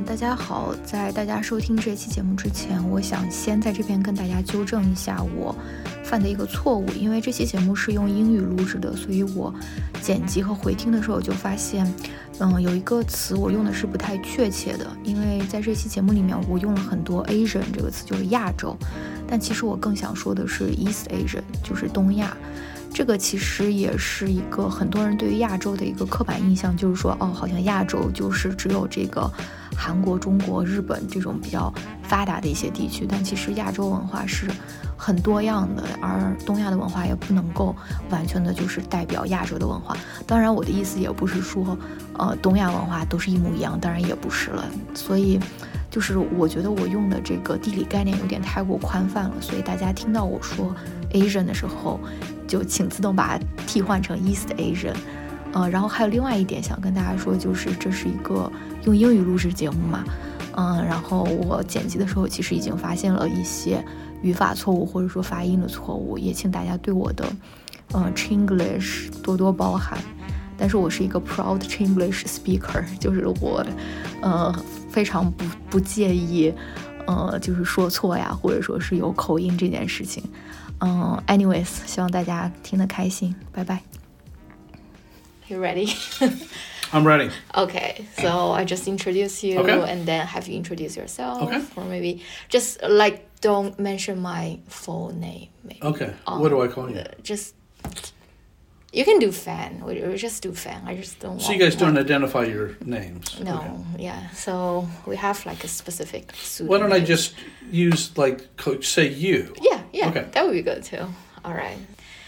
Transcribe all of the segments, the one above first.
大家好，在大家收听这期节目之前，我想先在这边跟大家纠正一下我犯的一个错误，因为这期节目是用英语录制的，所以我剪辑和回听的时候就发现，有一个词我用的是不太确切的，因为在这期节目里面我用了很多 Asian 这个词，就是亚洲，但其实我更想说的是 East Asian， 就是东亚。这个其实也是一个很多人对于亚洲的一个刻板印象，就是说好像亚洲就是只有这个韩国、中国、日本这种比较发达的一些地区，但其实亚洲文化是很多样的，而东亚的文化也不能够完全的就是代表亚洲的文化。当然我的意思也不是说东亚文化都是一模一样，当然也不是了，所以就是我觉得我用的这个地理概念有点太过宽泛了，所以大家听到我说 Asian 的时候就请自动把它替换成 East Asian。然后还有另外一点想跟大家说，就是这是一个用英语录制节目嘛，然后我剪辑的时候其实已经发现了一些语法错误或者说发音的错误，也请大家对我的Chinglish 多多包涵。但是我是一个 proud Chinglish speaker， 就是我非常不介意就是说错呀，或者说是有口音这件事情。anyways， 希望大家听得开心，拜拜。You ready? I'm ready. Okay, so I just introduce you, and then have you introduce yourself. Okay. Or maybe just like don't mention my full name. Maybe. Okay. What do I call you? Just you can do fan. We just do fan. I just don't. So you guys don't identify your names? No. Okay. Yeah. So we have like a specific pseudonym. Why don't I just use say you? Yeah. Okay. That would be good too. All right.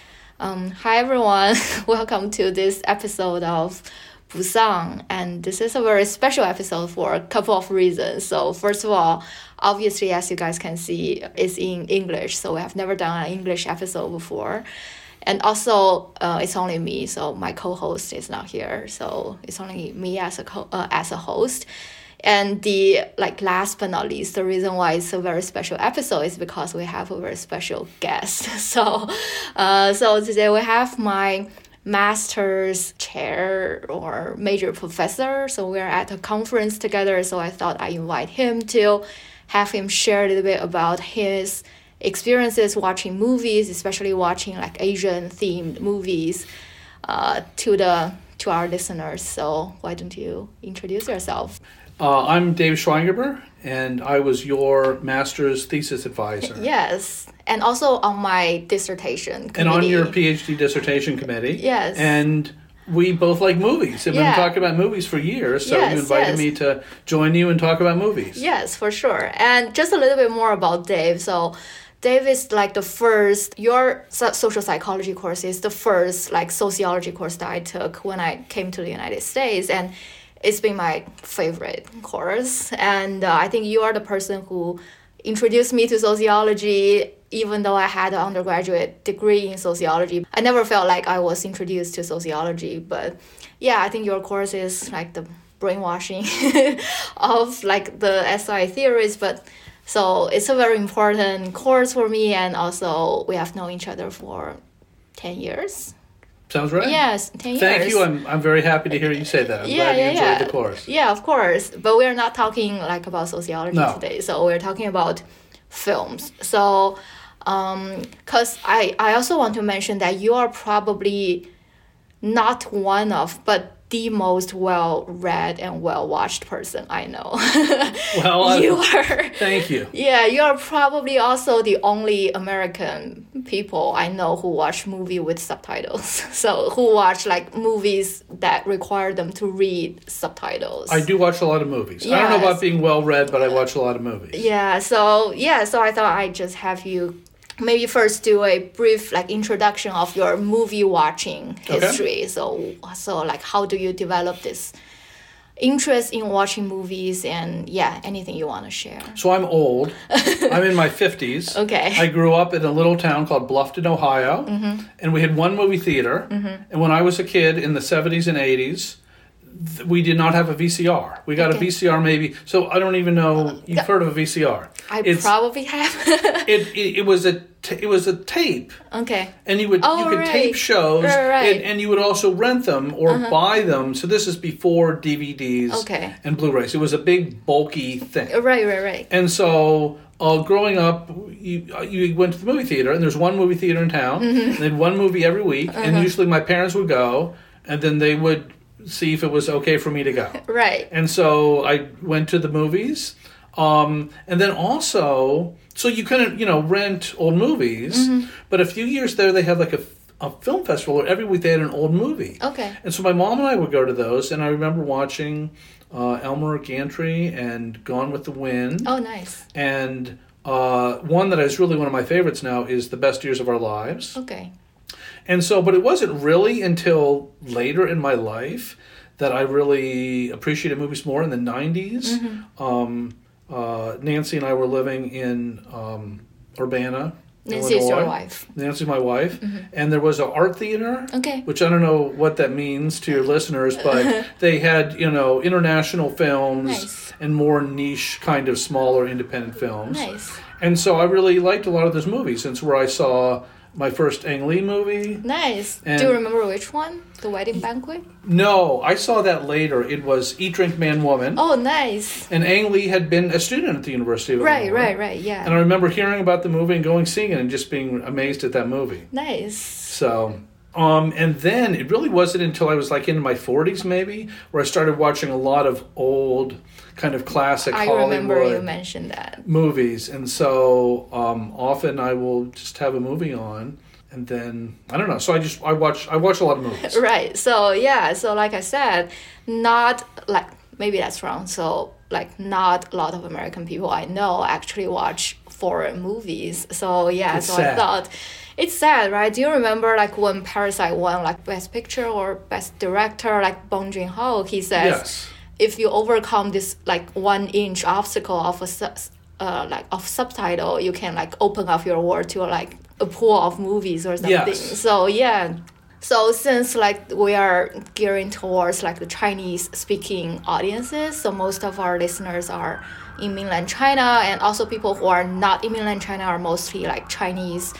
Hi everyone, welcome to this episode of Busan, and this is a very special episode for a couple of reasons. So first of all, obviously as you guys can see, it's in English, so we have never done an English episode before. And also, it's only me, so my co-host is not here, so it's only me as a host. And the last but not least, the reason why it's a very special episode is because we have a very special guest. So today we have my master's chair or major professor. So we're at a conference together. So I thought I invite him to have him share a little bit about his experiences watching movies, especially watching Asian themed movies, to our listeners. So why don't you introduce yourself? I'm Dave Schweingerber, and I was your master's thesis advisor. Yes, and also on my dissertation committee. And on your PhD dissertation committee. Yes. And we both like movies. We've been talking about movies for years, so you invited me to join you and talk about movies. Yes, for sure. And just a little bit more about Dave. So Dave is the first, your social psychology course is the first sociology course that I took when I came to the United States, and it's been my favorite course. And I think you are the person who introduced me to sociology, even though I had an undergraduate degree in sociology. I never felt like I was introduced to sociology, but yeah, I think your course is the brainwashing of the SI theories, but so it's a very important course for me, and also we have known each other for 10 years. Sounds right. Yes, 10 years. Thank you. I'm very happy to hear you say that. I'm glad you enjoyed the course. Yeah, of course. But we're not talking about sociology today. So we're talking about films. So, because I also want to mention that you are probably not one of, but the most well-read and well-watched person I know. Well, you are. Thank you. Yeah, you are probably also the only American people I know who watch movie with subtitles. So who watch movies that require them to read subtitles. I do watch a lot of movies. Yes. I don't know about being well-read, but I watch a lot of movies. Yeah, so I thought I'd just have you maybe first do a brief introduction of your movie watching history. Okay. So how do you develop this interest in watching movies, and anything you want to share? So I'm old. I'm in my 50s. Okay. I grew up in a little town called Bluffton, Ohio, and we had one movie theater. And when I was a kid in the 70s and 80s, we did not have a VCR. We got a VCR maybe. So I don't even know. You've heard of a VCR? Probably have. it was a tape. Okay. And you could tape shows, and you would also rent them or buy them. So this is before DVDs and Blu-rays. It was a big bulky thing. Right. And so growing up, you went to the movie theater, and there's one movie theater in town. And they had one movie every week, and usually my parents would go, and then they would see if it was okay for me to go. Right. And so I went to the movies. And then also, so you couldn't, rent old movies. But a few years there, they had like a film festival where every week they had an old movie. Okay. And so my mom and I would go to those. And I remember watching Elmer Gantry and Gone with the Wind. Oh, nice. And one that is really one of my favorites now is The Best Years of Our Lives. Okay. And so, but it wasn't really until later in my life that I really appreciated movies more. In the 90s, Nancy and I were living in Urbana, Nancy's Illinois. your wife. Nancy's my wife. And there was an art theater, which I don't know what that means to your listeners, but they had, international films and more niche kind of smaller independent films. Nice. And so I really liked a lot of those movies. Since where I saw my first Ang Lee movie. Nice. Do you remember which one? The Wedding Banquet? No, I saw that later. It was Eat, Drink, Man, Woman. Oh, nice. And Ang Lee had been a student at the University of Illinois. Right, yeah. And I remember hearing about the movie and going seeing it and just being amazed at that movie. Nice. So, and then it really wasn't until I was like in my 40s maybe where I started watching a lot of old kind of classic Hollywood. I remember you mentioned that. Movies. And so often I will just have a movie on. And then, I don't know, so I watch a lot of movies. Right, so yeah, so like I said, not like, maybe that's wrong, so like not a lot of American people I know actually watch foreign movies. So yeah, it's so sad. I thought, it's sad, right? Do you remember like when Parasite won like Best Picture or Best Director, like Bong Joon-ho, he says, Yes. If you overcome this like 1-inch obstacle of of subtitle, you can like open up your world to like a pool of movies or something. Yes. So yeah. So since like we are gearing towards like the Chinese speaking audiences, so most of our listeners are in mainland China, and also people who are not in mainland China are mostly like Chinese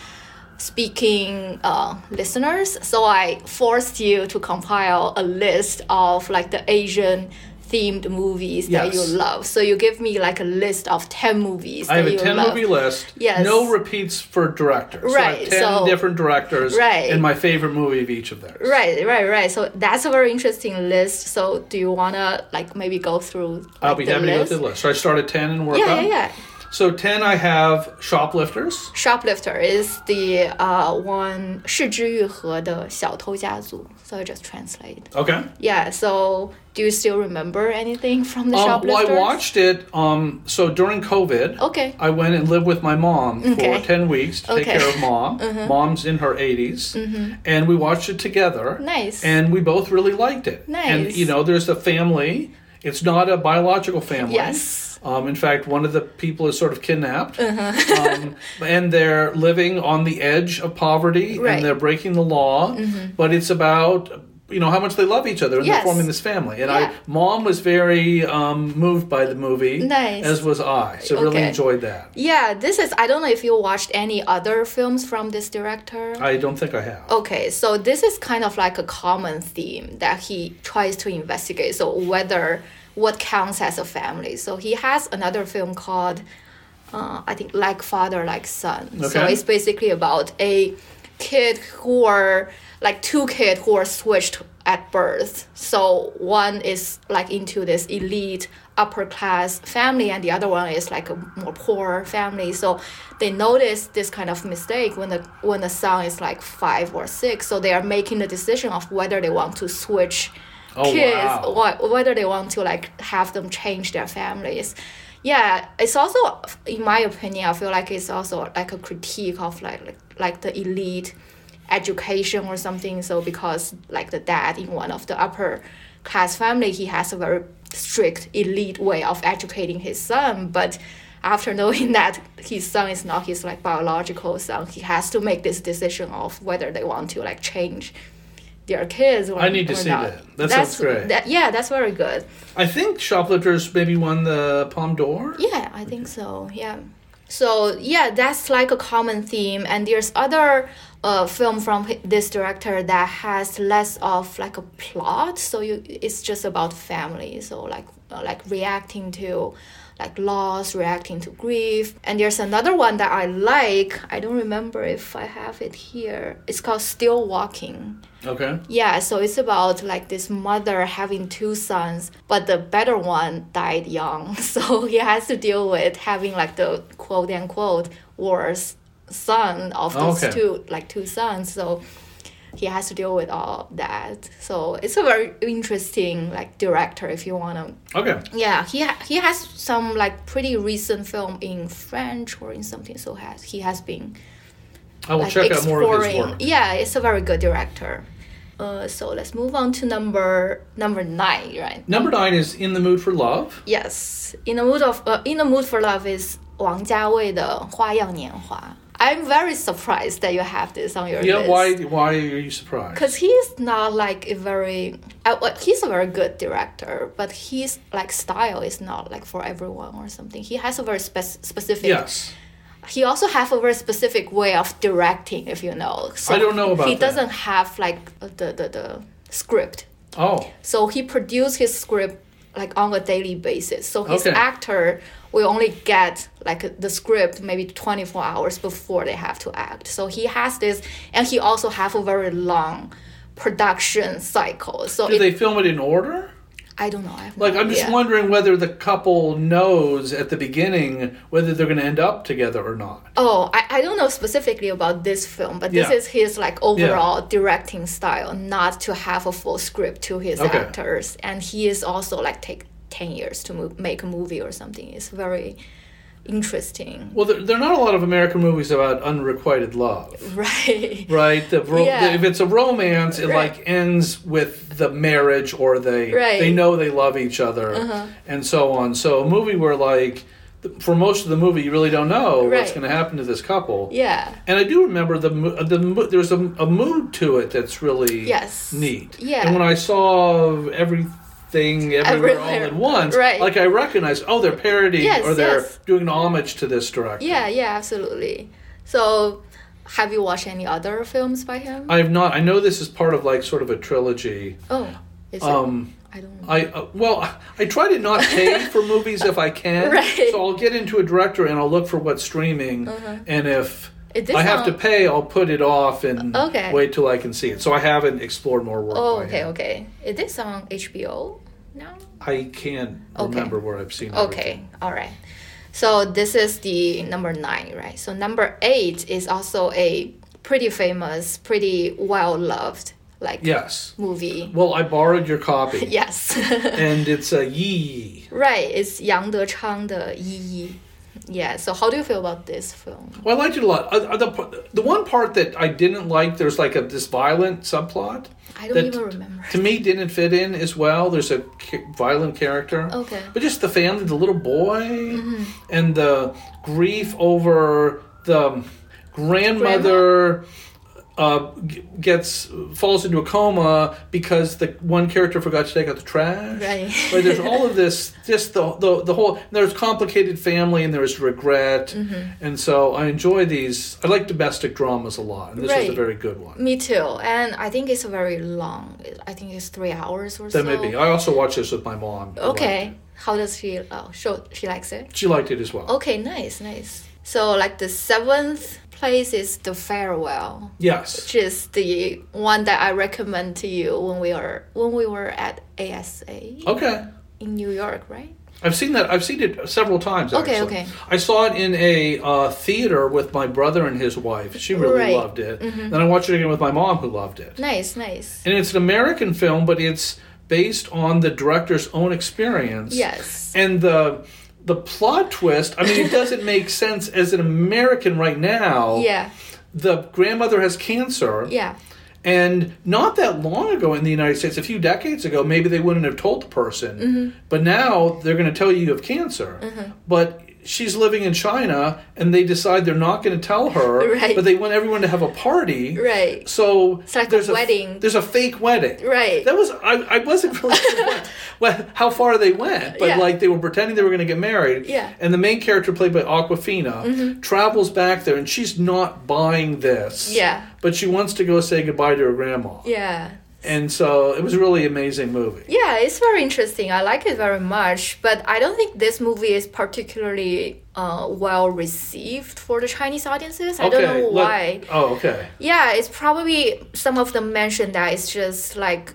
speaking listeners. So I forced you to compile a list of like the Asian themed movies that you love. So you give me like a list of 10 movies I have a 10 movie list. Yes. No repeats for directors. Right. So I have 10 different directors and my favorite movie of each of theirs. Right. So that's a very interesting list. So do you want to like maybe go through I'll be happy to go through the list. So I start at 10 and work on? Yeah. So 10 I have Shoplifters. Shoplifter is the one 是枝裕和的小偷家族. So I just translate. Okay. Yeah, so do you still remember anything from the Shoplifters? Well, I watched it, so during COVID, I went and lived with my mom for 10 weeks to take care of Mom. Mom's in her 80s, and we watched it together. Nice. And we both really liked it. Nice. And, there's a family. It's not a biological family. Yes. In fact, one of the people is sort of kidnapped, and they're living on the edge of poverty, and they're breaking the law. But it's about how much they love each other, and they're forming this family. And Mom was very moved by the movie, as was I. So really enjoyed that. Yeah, I don't know if you watched any other films from this director. I don't think I have. Okay, so this is kind of like a common theme that he tries to investigate. So what counts as a family. So he has another film called, I think, Like Father, Like Son. Okay. So it's basically about a kid two kids who are switched at birth. So one is like into this elite upper class family, and the other one is like a more poor family. So they notice this kind of mistake when the son is like 5 or 6. So they are making the decision of whether they want to switch kids, or whether they want to like have them change their families. Yeah, it's also, in my opinion, I feel like it's also like a critique of like the elite education or something. So because like the dad in one of the upper class family, he has a very strict elite way of educating his son, but after knowing that his son is not his like biological son, he has to make this decision of whether they want to like change their kids or I need to see not. that. Sounds great. That's very good. I think Shoplifters maybe won the Palme d'Or. Yeah, I think so. Yeah. So yeah, that's like a common theme, and there's other film from this director that has less of like a plot. So it's just about family. So like reacting to like loss, reacting to grief. And there's another one that I like. I don't remember if I have it here. It's called Still Walking. Okay. Yeah, so it's about like this mother having 2 sons, but the better one died young. So he has to deal with having like the quote unquote worst son of those two sons. So he has to deal with all that. So it's a very interesting like director if you want to. Okay. Yeah, he has some like pretty recent film in French or in something. So he has been. I will check out more of his work. Yeah, it's a very good director. So let's move on to number 9, right? Number 9 is In the Mood for Love. Yes, In the Mood for Love is 王家卫的《花样年华》. I'm very surprised that you have this on your list. Yeah, why are you surprised? Because he's not like he's a very good director, but his like style is not like for everyone or something. He has a very specific. Yes. He also have a very specific way of directing, if you know. So I don't know about that. He doesn't have like the script. Oh. So he produces his script like on a daily basis. So his actor will only get like the script maybe 24 hours before they have to act. So he has this, and he also have a very long production cycle. So do they film it in order? I don't know. I'm just wondering whether the couple knows at the beginning whether they're going to end up together or not. Oh, I don't know specifically about this film, but this is his like overall directing style, not to have a full script to his actors. And he is also like take 10 years to make a movie or something. It's very interesting. Well, there are not a lot of American movies about unrequited love. Right. Right? If it's a romance, it like ends with the marriage, or they know they love each other, and so on. So a movie where like for most of the movie you really don't know what's going to happen to this couple. Yeah. And I do remember there's a mood to it that's really neat. Yeah. And when I saw Everything Everywhere All at Once, like I recognize, they're parodying or they're doing an homage to this director. Yeah, absolutely. So have you watched any other films by him? I have not. I know this is part of like sort of a trilogy. Oh, is it? I don't know. I try to not pay for movies if I can. Right. So I'll get into a director and I'll look for what's streaming, and if I have to pay, I'll put it off and wait till I can see it. So I haven't explored more work. Okay. Is this on HBO now? I can't remember where I've seen it. Okay, all right. So this is the number 9, right? So number 8 is also a pretty famous, pretty well-loved movie. Well, I borrowed your copy. Yes. And it's a Yi. Right, it's Yang Dechang的Yi. Yeah, so how do you feel about this film? Well, I liked it a lot. The one part that I didn't like, there's like this violent subplot. I don't even remember. To me, didn't fit in as well. There's a violent character. Okay. But just the family, the little boy, and the grief over the grandmother falls into a coma because the one character forgot to take out the trash. Right. But there's all of this, just the whole. There's complicated family and there's regret, and so I enjoy these. I like domestic dramas a lot, and this was a very good one. Me too, and I think it's very long. I think it's 3 hours or so. That may be. I also watched this with my mom. Okay. How does she? She likes it. She liked it as well. Okay, nice. So like the 7th place is The Farewell. Yes. Which is the one that I recommend to you when we were at ASA. Okay. In New York, right? I've seen that. I've seen it several times, actually. Okay. I saw it in a theater with my brother and his wife. She really loved it. Then I watched it again with my mom, who loved it. Nice. And it's an American film, but it's based on the director's own experience. Yes. And the plot twist, I mean, it doesn't make sense as an American right now. Yeah. The grandmother has cancer. Yeah. And not that long ago in the United States, a few decades ago, maybe they wouldn't have told the person. But now they're going to tell you have cancer. But she's living in China, and they decide they're not going to tell her, right. but they want everyone to have a party. Right. So it's like a wedding. There's a fake wedding. Right. That was I wasn't really sure how far they went, but like they were pretending they were going to get married. Yeah. And the main character, played by Awkwafina, travels back there, and she's not buying this. Yeah. But she wants to go say goodbye to her grandma. Yeah. And so it was a really amazing movie. Yeah, it's very interesting. I like it very much. But I don't think this movie is particularly well received for the Chinese audiences. I don't know why. Oh, okay. Yeah, it's probably some of them mentioned that it's just like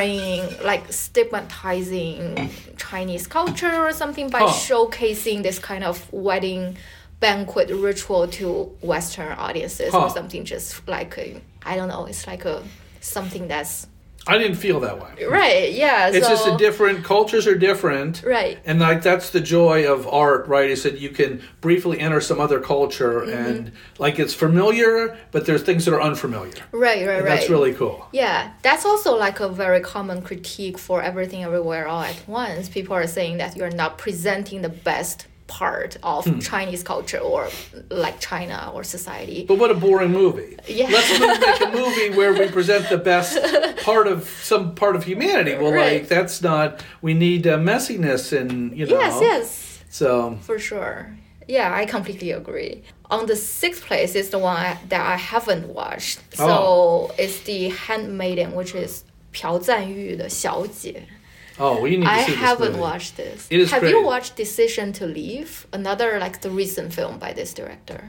stigmatizing Chinese culture or something by showcasing this kind of wedding banquet ritual to Western audiences or something, just like I don't know. It's like something that's. I didn't feel that way. Right, yeah. It's just a different, cultures are different. Right. And like that's the joy of art, right? Is that you can briefly enter some other culture and like it's familiar, but there's things that are unfamiliar. Right. That's really cool. Yeah, that's also like a very common critique for Everything Everywhere All at Once. People are saying that you're not presenting the best part of Chinese culture or like China or society. But what a boring movie. Yeah. Let's make a movie where we present the best part of some part of humanity. Well, like that's not, we need messiness and, you know. Yes. So. For sure. Yeah, I completely agree. On the 6th place is the one that I haven't watched. So it's The Handmaiden, which is 朴赞玉的小姐. Oh, we need to see this I haven't movie. watched this. It is Have great. you watched Decision to Leave? Another like the recent film by this director.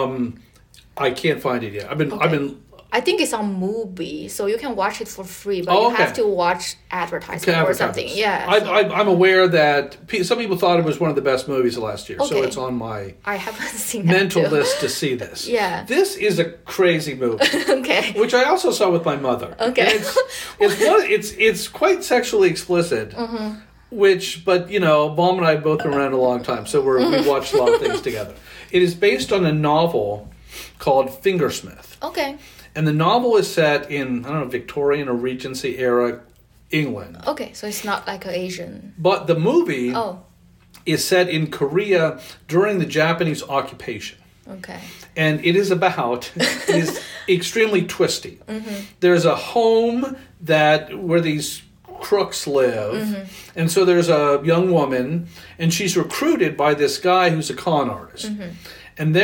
I can't find it yet. I've been. I think it's on Mubi, so you can watch it for free, but you have to watch advertisement or something. Yeah. I'm aware that some people thought it was one of the best movies of last year, so it's on my I haven't seen that mental list to see this. Yeah. This is a crazy movie. Okay. Which I also saw with my mother. Okay. It's quite sexually explicit. But you know, Baum and I have both been around a long time, so we watched a lot of things together. It is based on a novel called Fingersmith. Okay. And the novel is set in, I don't know, Victorian or Regency era England. Okay, so it's not like an Asian. But the movie is set in Korea during the Japanese occupation. Okay. And it is extremely twisty. There's a home where these crooks live. And so there's a young woman, and she's recruited by this guy who's a con artist. And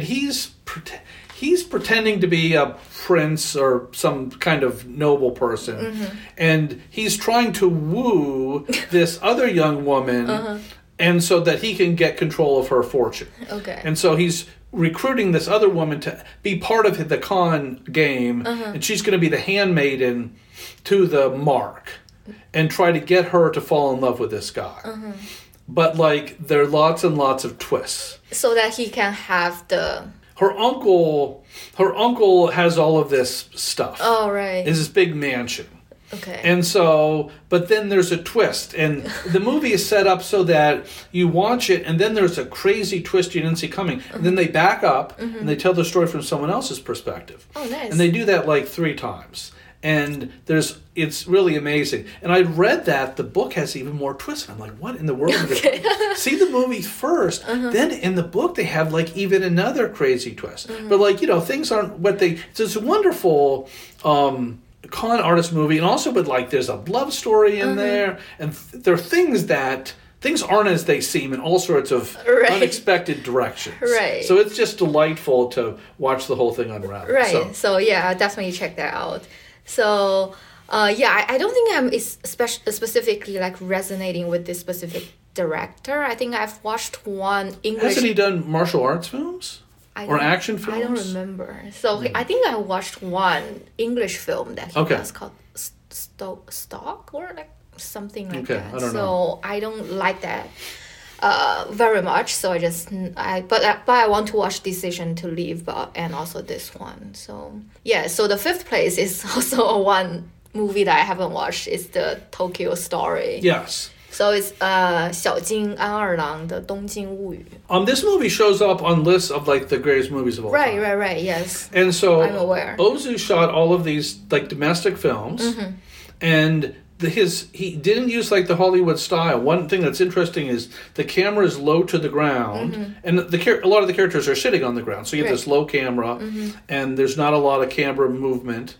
he's pretending to be a prince or some kind of noble person. And he's trying to woo this other young woman and so that he can get control of her fortune. Okay. And so he's recruiting this other woman to be part of the con game, and she's going to be the handmaiden to the mark and try to get her to fall in love with this guy. But like there are lots and lots of twists. So that he can have the... Her uncle has all of this stuff. Oh, right. It's this big mansion. Okay. And so, but then there's a twist. And the movie is set up so that you watch it, and then there's a crazy twist you didn't see coming. And then they back up, and they tell the story from someone else's perspective. Oh, nice. And they do that like 3 times. And it's really amazing. And I read that the book has even more twists. And I'm like, what in the world? Okay. See the movie first. Then in the book they have like even another crazy twist. But like, you know, things aren't what they... It's this wonderful con artist movie. And also, but like there's a love story in there. And there are things aren't as they seem in all sorts of unexpected directions. Right. So it's just delightful to watch the whole thing unravel. Right. So yeah, I'll definitely check that out. So, I don't think I'm specifically like resonating with this specific director. I think I've watched one English... Hasn't he done martial arts films? Or action films? I don't remember. So I think I watched one English film that he does called Stock or like something like that. I don't know. I don't like that very much. So but I want to watch Decision to Leave and also this one. So yeah, so the 5th place is also one movie that I haven't watched. It's the Tokyo Story. Yes. So it's 小津安二郎的东京物语. This movie shows up on lists of like the greatest movies of all time. Right, yes. And so I'm aware. Ozu shot all of these like domestic films, and he didn't use like the Hollywood style. One thing that's interesting is the camera is low to the ground, and a lot of the characters are sitting on the ground. So you have this low camera, and there's not a lot of camera movement.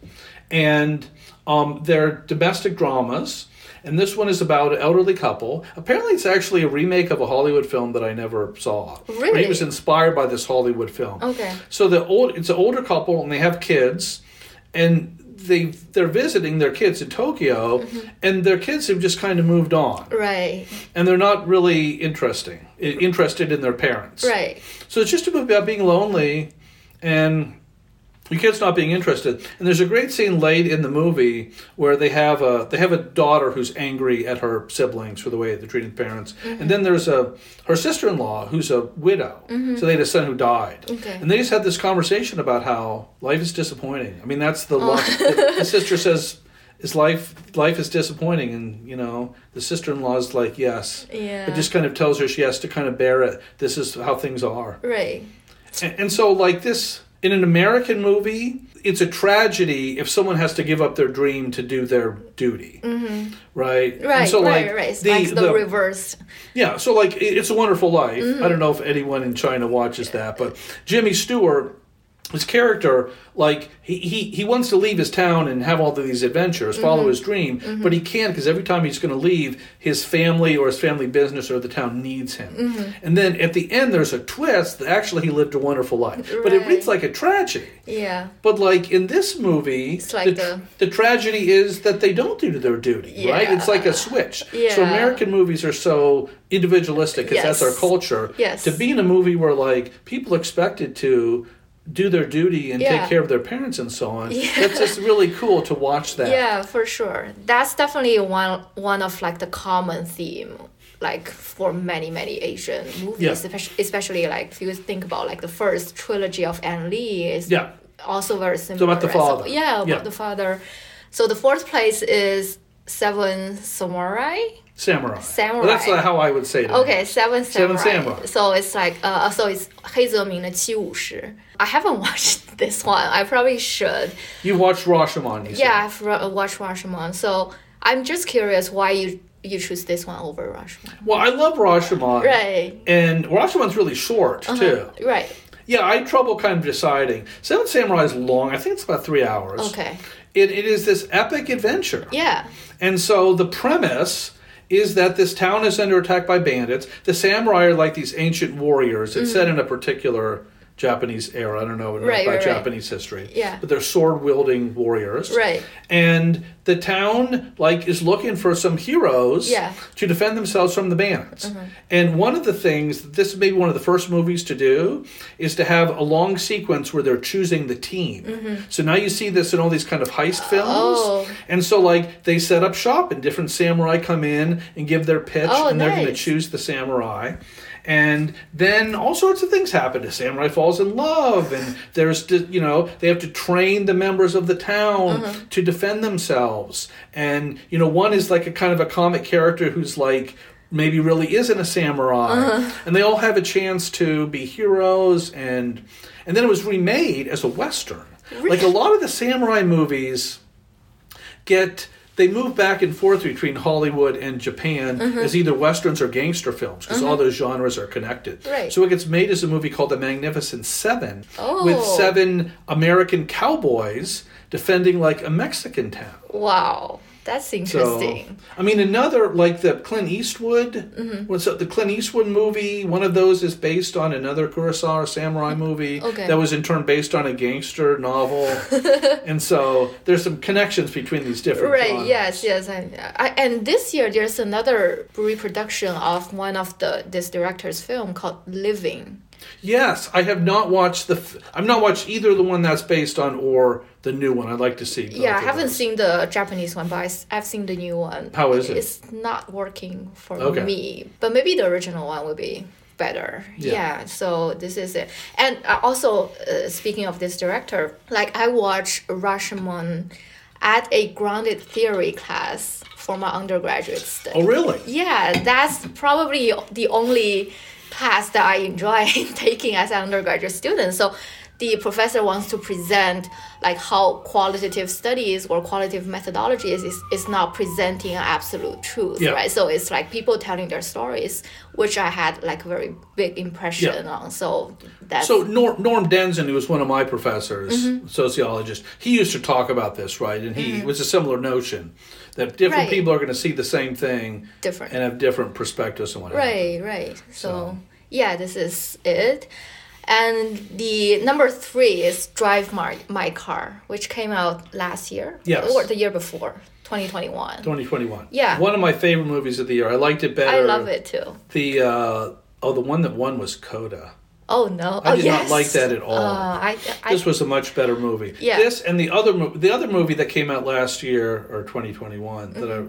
And they're domestic dramas. And this one is about an elderly couple. Apparently, it's actually a remake of a Hollywood film that I never saw. Really? He was inspired by this Hollywood film. Okay. So it's an older couple, and they have kids, and they're visiting their kids in Tokyo, and their kids have just kind of moved on. Right. And they're not really interested in their parents. Right. So it's just about being lonely, and your kid's not being interested. And there's a great scene late in the movie where they have a daughter who's angry at her siblings for the way they're treating parents. And then there's her sister-in-law who's a widow. So they had a son who died. Okay. And they just had this conversation about how life is disappointing. I mean, that's the sister says, life is disappointing, and the sister-in-law is like, yes. Yeah. It just kind of tells her she has to kind of bear it. This is how things are. Right. And so like this, in an American movie, it's a tragedy if someone has to give up their dream to do their duty, right? Right, and so, right. It's like the reverse. Yeah, so like It's a Wonderful Life. I don't know if anyone in China watches that, but Jimmy Stewart, his character, like he wants to leave his town and have all of these adventures, follow his dream, but he can't because every time he's going to leave, his family or his family business or the town needs him. And then at the end, there's a twist that actually he lived a wonderful life, but it reads like a tragedy. Yeah. But like in this movie, it's like the tragedy is that they don't do their duty, right? It's like a switch. Yeah. So American movies are so individualistic because that's our culture. Yes. To be in a movie where like people expected to do their duty and take care of their parents and so on. It's just really cool to watch that. Yeah, for sure. That's definitely one of like the common theme, like for many Asian movies, especially like if you think about like the first trilogy of Ang Lee is also very similar. So about the father. So, about the father. So the fourth place is Seven Samurai. Samurai. Well, that's how I would say it. Okay, Seven Samurai. So it's like, so it's 黑泽明的七武士. I haven't watched this one. I probably should. You watched Rashomon, you said. Yeah, I've watched Rashomon. So I'm just curious why you choose this one over Rashomon. Well, I love Rashomon. Right. And Rashomon's really short, too. Right. Yeah, I had trouble kind of deciding. Seven Samurai is long. I think it's about 3 hours. Okay. It is this epic adventure. Yeah. And so the premise is that this town is under attack by bandits. The samurai are like these ancient warriors. It's set in a particular Japanese era. I don't know about Japanese history. Yeah. But they're sword-wielding warriors. Right. And the town is looking for some heroes to defend themselves from the bandits. And one of the things, this is maybe one of the first movies to do, is to have a long sequence where they're choosing the team. So now you see this in all these kind of heist films. And so they set up shop and different samurai come in and give their pitch and they're going to choose the samurai. And then all sorts of things happen. The samurai falls in love, and there's, they have to train the members of the town to defend themselves. And, one is like a kind of a comic character who's maybe really isn't a samurai. And they all have a chance to be heroes. And then it was remade as a Western. Really? Like a lot of the samurai movies they move back and forth between Hollywood and Japan as either Westerns or gangster films, because all those genres are connected. Right. So it gets made as a movie called The Magnificent Seven, with 7 American cowboys defending a Mexican town. Wow. That's interesting. So, I mean, another, the Clint Eastwood, the Clint Eastwood movie, one of those is based on another Kurosawa samurai movie that was in turn based on a gangster novel. And so there's some connections between these different genres. Yes. And this year there's another reproduction of one of this director's film called Living. Yes, I have not watched I've not watched either the one that's based on or the new one. I'd like to see. Yeah, I haven't seen the Japanese one, but I've seen the new one. How is it? It's not working for me, but maybe the original one would be better. Yeah, so this is it. And also, speaking of this director, I watched Rashomon at a grounded theory class for my undergraduate study. Oh, really? Yeah, that's probably the only class that I enjoy taking as an undergraduate student. So the professor wants to present like how qualitative studies or qualitative methodology is not presenting an absolute truth, right? So it's like people telling their stories, which I had like a very big impression on. So that's... So Norm Denzin, who was one of my professors, sociologist, he used to talk about this, right? And he was a similar notion that different people are going to see the same thing and have different perspectives and whatever. Right. So yeah, this is it. And the number 3 is Drive My Car, which came out last year. Yes. Or the year before, 2021. 2021. Yeah. One of my favorite movies of the year. I liked it better. I love it too. The one that won was Coda. Oh, no. I did not like that at all. This was a much better movie. Yeah. This and the other movie that came out last year, or 2021, that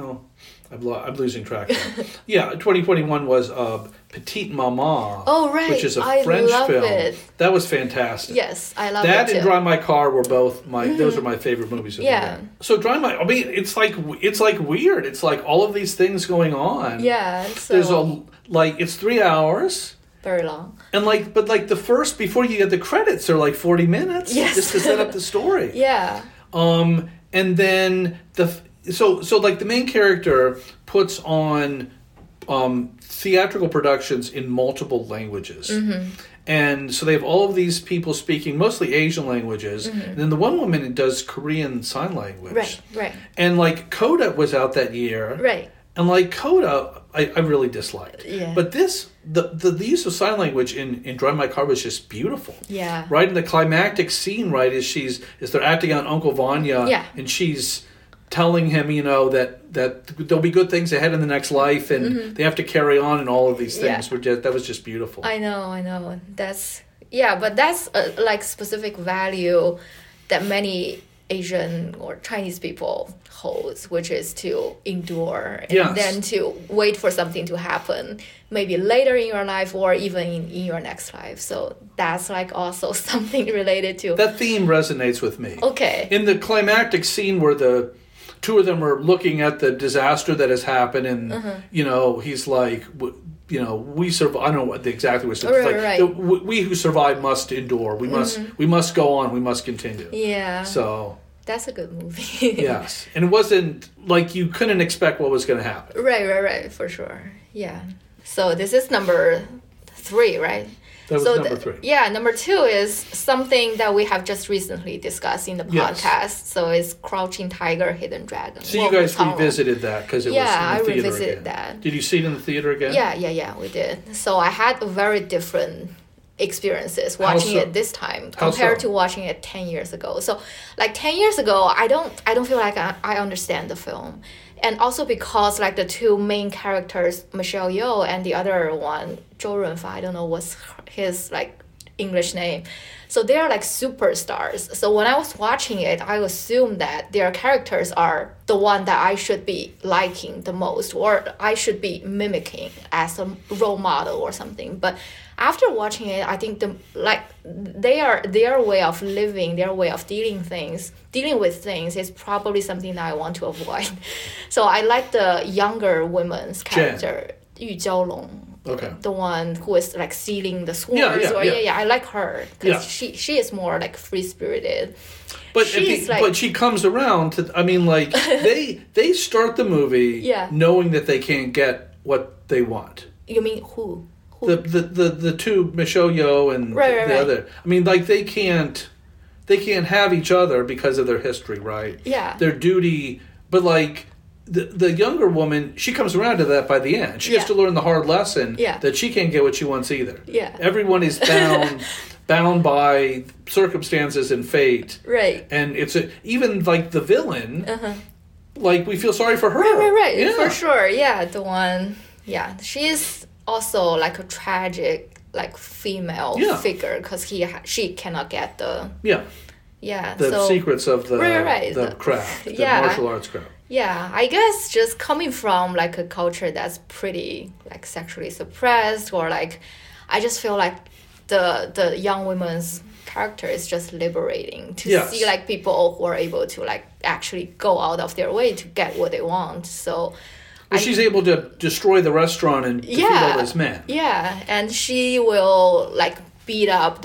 I'm losing track of. Yeah, 2021 was Petite Maman. Oh, right. Which is a French film. It. That was fantastic. Yes, I love that it and Drive My Car were both those are my favorite movies of the year. So it's like weird. It's like all of these things going on. Yeah. So there's it's 3 hours. Very long. And but the first, before you get the credits, are like 40 minutes just to set up the story. Yeah. And then the main character puts on theatrical productions in multiple languages. And so they have all of these people speaking mostly Asian languages. And then the one woman does Korean Sign Language. Right. And Coda was out that year. Right. And Coda, I really disliked. Yeah. But the use of sign language in Drive My Car was just beautiful. Yeah. Right? And the climactic scene, right, is they're acting on Uncle Vanya. Yeah. And she's telling him, that there'll be good things ahead in the next life, and they have to carry on, and all of these things. That was just beautiful. I know. But that's a specific value that many Asian or Chinese people holds, which is to endure and then to wait for something to happen, maybe later in your life or even in your next life. So that's also something related to... That theme resonates with me. Okay. In the climactic scene where the two of them are looking at the disaster that has happened, and, he's like... we survive. I don't know exactly what it's right. We who survive must endure. We must go on. We must continue. Yeah. So that's a good movie. Yes, and it wasn't you couldn't expect what was going to happen. Right, for sure. Yeah. So this is number 3, right? That was number 3. Yeah, number 2 is something that we have just recently discussed in the podcast. Yes. So it's Crouching Tiger, Hidden Dragon. So you guys revisited that because it was in the theater again. Yeah, I revisited that. Did you see it in the theater again? Yeah, we did. So I had very different experiences watching it this time compared to watching it 10 years ago. So 10 years ago, I don't feel like I understand the film. And also because the two main characters, Michelle Yeoh and the other one, Zhou Runfa, I don't know what's his English name. So they are superstars. So when I was watching it, I assumed that their characters are the one that I should be liking the most, or I should be mimicking as a role model or something. But after watching it, I think their way of living, their way of dealing with things is probably something that I want to avoid. So I like the younger woman's character, Yu Jiaolong. Okay. The one who is sealing the swords. Yeah. I like her because she is more free spirited. But she comes around to. I mean, they start the movie knowing that they can't get what they want. You mean who? The two, Michelle Yeoh and the other. I mean, they can't have each other because of their history, right? Yeah. Their duty, but the younger woman, she comes around to that by the end. She has to learn the hard lesson that she can't get what she wants either. Yeah. Everyone is bound by circumstances and fate. Right. And it's even the villain, we feel sorry for her. Right. Yeah. For sure. Yeah. The one, she is also a tragic female figure because she cannot get the secrets of the craft, the martial arts craft. Yeah, I guess just coming from a culture that's pretty sexually suppressed, or I just feel the young woman's character is just liberating to see people who are able to actually go out of their way to get what they want. So she's able to destroy the restaurant and defeat all those men. Yeah, and she will beat up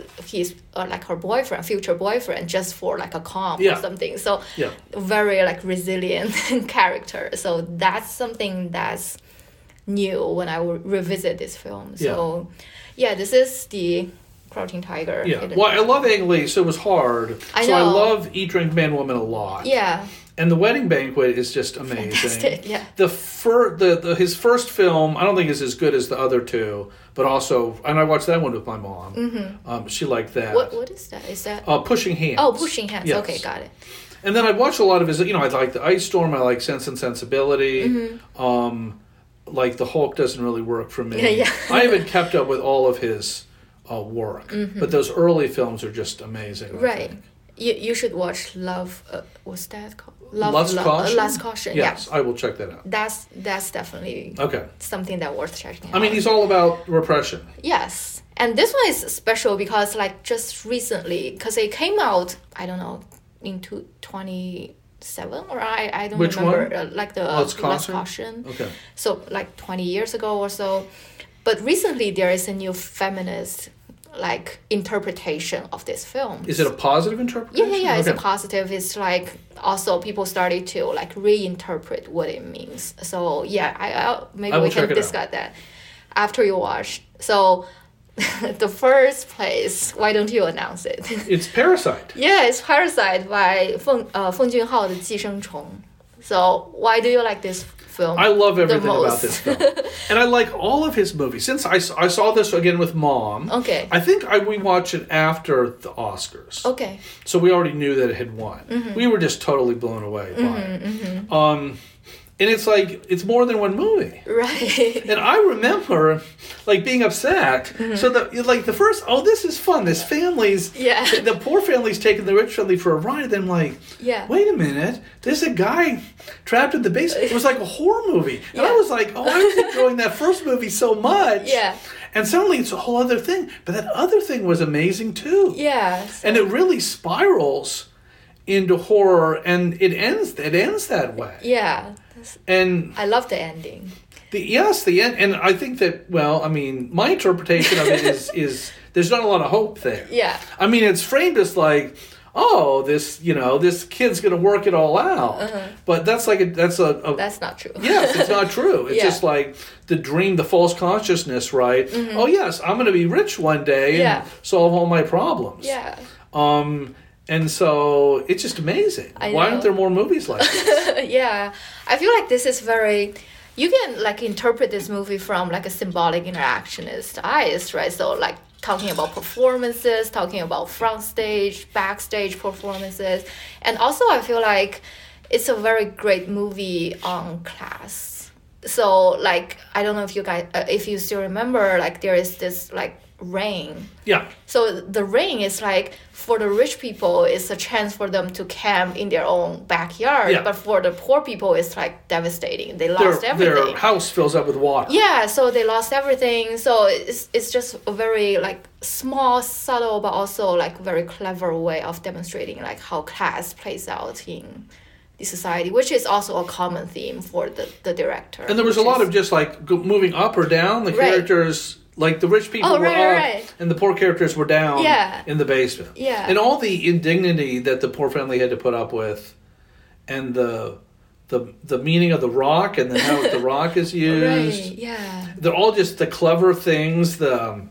her boyfriend, future boyfriend, just for like a comp or something. So very like resilient character. So that's something that's new when I revisit this film. So this is the Crouching Tiger. Yeah. Well, I love Ang Lee, so it was hard. I love Eat, Drink, Man, Woman a lot. Yeah. And The Wedding Banquet is just amazing. Fantastic, yeah. His first film, I don't think is as good as the other two, but also, and I watched that one with my mom. Mm-hmm. She liked that. What is that? Is that Pushing Hands? Oh, Pushing Hands. Yes. Okay, got it. And then I watched a lot of his. I like The Ice Storm. I like Sense and Sensibility. Mm-hmm. Like The Hulk doesn't really work for me. Yeah. I haven't kept up with all of his work, but those early films are just amazing. Right. You should watch Love. What's that called? Last Caution? Last Caution. Yes, I will check that out. That's definitely something that worth checking out. I mean, he's all about repression. Yes, and this one is special because like just recently, because it came out, I don't know, in 2007 or I don't Which remember. One? Like the Last Caution. Okay. So like 20 years ago or so, but recently there is a new feminist like interpretation of this film. Is it a positive interpretation? Yeah. It's a positive. It's like also people started to like reinterpret what it means. So yeah, maybe we can discuss that after you watch. So the first place, why don't you announce it? It's Parasite. Yeah, it's Parasite by 奉俊昊的寄生虫. So why do you like this film? I love everything about this film. And I like all of his movies. Since I saw this again with Mom. Okay. I think we watched it after the Oscars. Okay. So we already knew that it had won. Mm-hmm. We were just totally blown away by it. Mm-hmm. And it's like, it's more than one movie. Right. And I remember, like, being upset. Mm-hmm. So, the first, this is fun. This family's, the poor family's taking the rich family for a ride. And then I'm like, wait a minute. There's a guy trapped in the basement. It was like a horror movie. And I was like, I was enjoying that first movie so much. Yeah. And suddenly it's a whole other thing. But that other thing was amazing, too. Yeah. So. And it really spirals into horror. And it ends that way. Yeah. And I love the ending. The end, and I think that, my interpretation of it is there's not a lot of hope there. Yeah. I mean, it's framed as like, this kid's going to work it all out. Uh-huh. But that's that's not true. Yes, it's not true. It's just like the dream, the false consciousness, right? Mm-hmm. Oh, yes, I'm going to be rich one day and solve all my problems. Yeah. And so it's just amazing. Why aren't there more movies like this? Yeah. I feel like this is very... You can like interpret this movie from like a symbolic interactionist eyes, right? So like talking about performances, talking about front stage, backstage performances. And also I feel like it's a very great movie on class. So like, I don't know if you guys, if you still remember, like there is this like ring. Yeah. So the ring is like, for the rich people, it's a chance for them to camp in their own backyard. Yeah. But for the poor people, it's like devastating. They lost everything. Their house fills up with water. Yeah, so they lost everything. So it's just a very like small, subtle, but also like very clever way of demonstrating like how class plays out in the society, which is also a common theme for the director. And there was a lot of just like moving up or down. The characters... Like, the rich people were up, and the poor characters were down in the basement. Yeah. And all the indignity that the poor family had to put up with, and the meaning of the rock, and then how the rock is used. Right, yeah. They're all just the clever things, the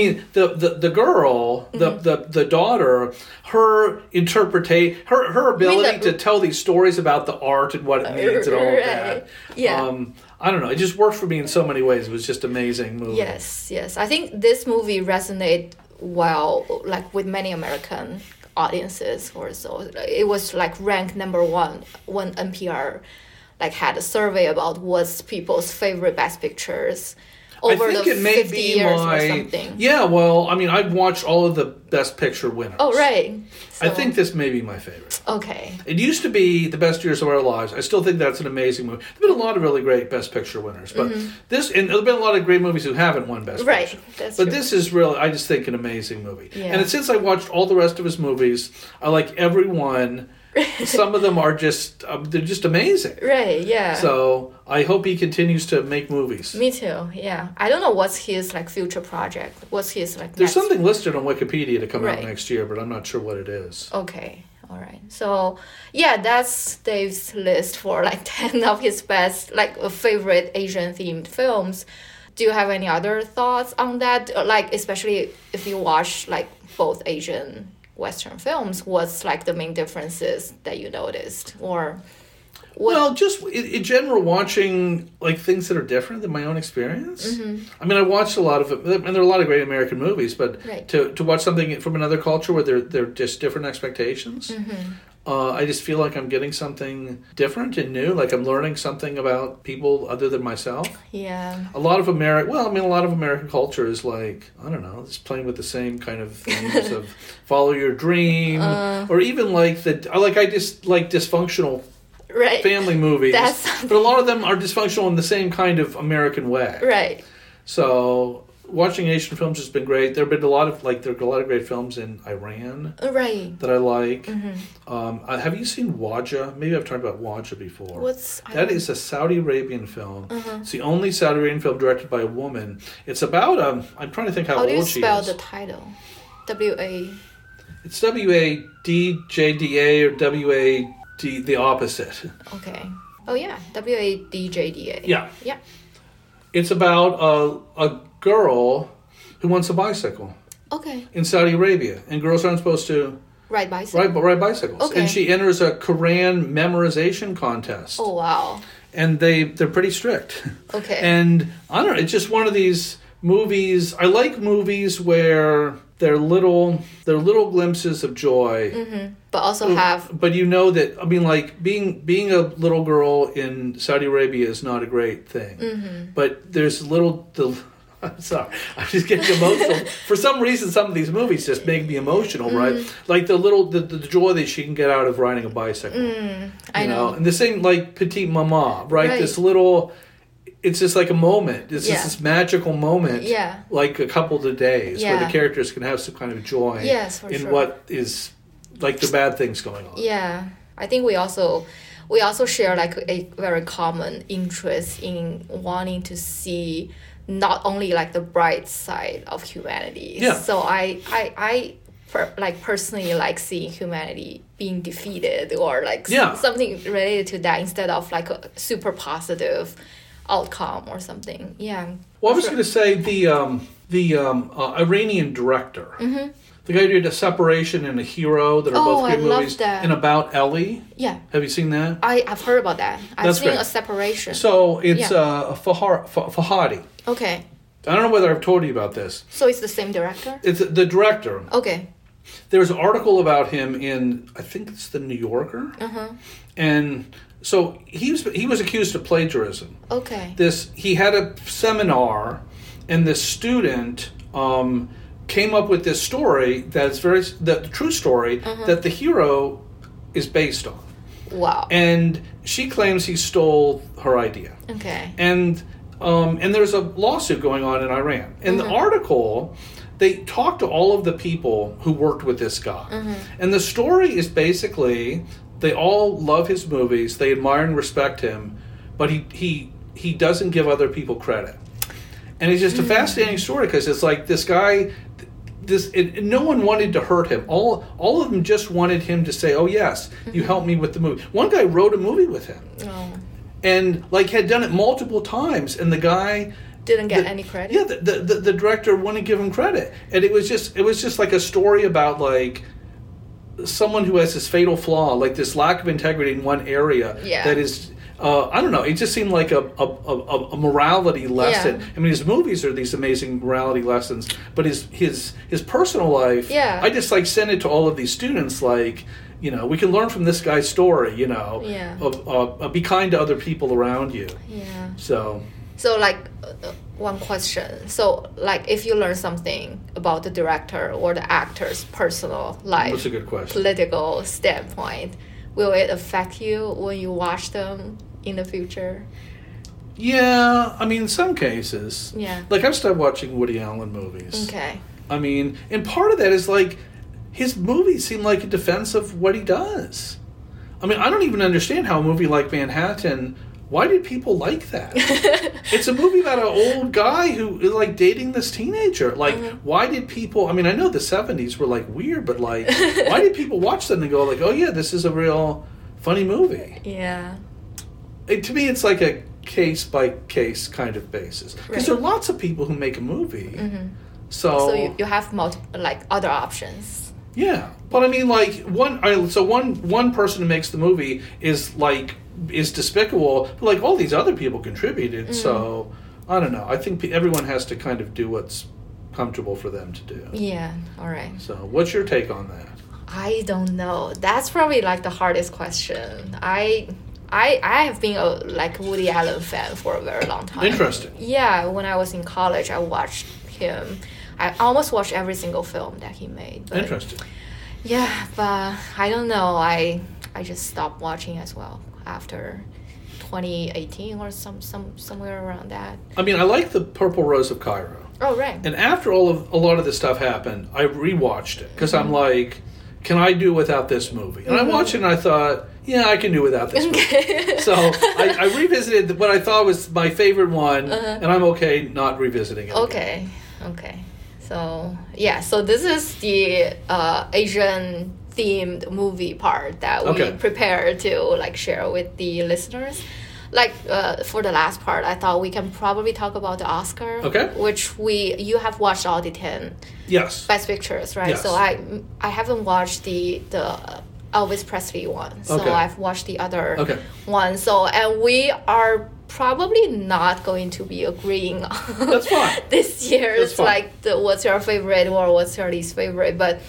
girl, the daughter, her her ability to tell these stories about the art and what it means and all of that. Yeah. I don't know. It just worked for me in so many ways. It was just an amazing movie. Yes. I think this movie resonated well, like with many American audiences or so. It was like ranked number one when NPR like had a survey about what's people's favorite Best Pictures over the 50 years or something. Yeah, well, I mean, I've watched all of the Best Picture winners. Oh, right. So, I think this may be my favorite. Okay. It used to be The Best Years of Our Lives. I still think that's an amazing movie. There's been a lot of really great Best Picture winners, but and there's been a lot of great movies who haven't won Best Picture. That's but true. This is really, I just think, an amazing movie. Yeah. And since I watched all the rest of his movies, I like every one Some of them are just they're just amazing. Right, yeah. So I hope he continues to make movies. Me too, yeah. I don't know what's his like future project. What's his like There's something listed on Wikipedia to come out next year, but I'm not sure what it is. Okay. All right. So, yeah, that's Dave's list for like 10 of his best like favorite Asian themed films. Do you have any other thoughts on that? Like especially if you watch like both Asian Western films, what's like the main differences that you noticed, or what? Well, just in general, watching like things that are different than my own experience. I mean, I watched a lot of it, and there are a lot of great American movies, but to watch something from another culture where they're just different expectations, I just feel like I'm getting something different and new. Like I'm learning something about people other than myself. Yeah. A lot of American culture is like, I don't know, just playing with the same kind of themes of follow your dream, or even like I just like dysfunctional family movies. But a lot of them are dysfunctional in the same kind of American way. Right. So watching Asian films has been great. There are a lot of great films in Iran that I like. Have you seen Wajah? Maybe I've talked about Wajah before. That is a Saudi Arabian film. It's the only Saudi Arabian film directed by a woman. It's about I'm trying to think how old she is. How do you spell the title? W-A... It's W-A-D-J-D-A or W-A-D, the opposite. Okay. Oh yeah, W-A-D-J-D-A. Yeah. It's about a girl who wants a bicycle. Okay. In Saudi Arabia, and girls aren't supposed to ride bicycles. Ride bicycles. Okay. And she enters a Quran memorization contest. Oh wow. And they're pretty strict. Okay. And I don't know, it's just one of these movies. I like movies where they're little glimpses of joy. But also have... But you know that, I mean, like, being a little girl in Saudi Arabia is not a great thing. But there's I'm sorry, I'm just getting emotional. For some reason, some of these movies just make me emotional, right? Like the joy that she can get out of riding a bicycle. I know. And the same, like, Petite Maman, right? This little... It's just like a moment. It's just this magical moment, like a couple of days, where the characters can have some kind of joy in what is like the bad things going on. Yeah, I think we also share like a very common interest in wanting to see not only like the bright side of humanity. Yeah. So I personally like seeing humanity being defeated or like something related to that instead of like a super positive outcome or something. Yeah. Well, I was going to say the Iranian director, the guy who did A Separation and A Hero that are both great movies, and About Ellie. Yeah. Have you seen that? I've heard about that. I've seen A Separation. So it's Fahadi. Okay. I don't know whether I've told you about this. So it's the same director? It's the director. Okay. There's an article about him in, I think it's the New Yorker. And so he was accused of plagiarism. Okay. He had a seminar, and this student came up with this story that's the true story that the hero is based on. Wow. And she claims he stole her idea. Okay. And there's a lawsuit going on in Iran. In the article, they talked to all of the people who worked with this guy. And the story is basically they all love his movies, they admire and respect him, but he doesn't give other people credit. And it's just a fascinating story because it's like this guy, no one wanted to hurt him. All of them just wanted him to say, "Oh yes, you helped me with the movie." One guy wrote a movie with him, and like had done it multiple times, and the guy didn't get any credit. Yeah, the director wouldn't give him credit, and it was just like a story about like someone who has this fatal flaw, like this lack of integrity in one area that is. I don't know. It just seemed like a morality lesson. I mean, his movies are these amazing morality lessons, but his personal life. Yeah. I just like send it to all of these students. Like, you know, we can learn from this guy's story. You know, be kind to other people around you. Yeah. So like one question. So like, if you learn something about the director or the actor's personal life, that's a good question. Political standpoint, will it affect you when you watch them in the future? Yeah, I mean, in some cases. Yeah. Like, I've started watching Woody Allen movies. Okay. I mean, and part of that is, like, his movies seem like a defense of what he does. I mean, I don't even understand how a movie like Manhattan... Why did people like that? It's a movie about an old guy who is, like, dating this teenager. Like, why did people... I mean, I know the 70s were, like, weird, but, like, why did people watch them and go, like, oh, yeah, this is a real funny movie? Yeah. To me, it's like a case-by-case kind of basis. Because there are lots of people who make a movie. So you have other options. Yeah. But, I mean, like, one person who makes the movie is despicable, but like all these other people contributed, so I don't know. I think everyone has to kind of do what's comfortable for them to do. Yeah, all right. So what's your take on that? I don't know. That's probably like the hardest question. I have been a Woody Allen fan for a very long time. Interesting. Yeah, when I was in college, I watched him. I almost watched every single film that he made. But interesting. Yeah, but I don't know. I just stopped watching as well after 2018 or somewhere around that. I mean, I like the Purple Rose of Cairo. Oh, right. And after a lot of this stuff happened, I rewatched it because I'm like, can I do without this movie? And I watched it and I thought, yeah, I can do without this movie. So I revisited what I thought was my favorite one, and I'm okay not revisiting it. Okay. So, yeah, so this is the Asian themed movie part that we prepared to share with the listeners. For the last part, I thought we can probably talk about the Oscar, which you have watched all the 10 Best Pictures, right? Yes. So I haven't watched the Elvis Presley one, so I've watched the other one. So and we are probably not going to be agreeing on That's fine. this year. That's fine. What's your favorite or what's your least favorite, but.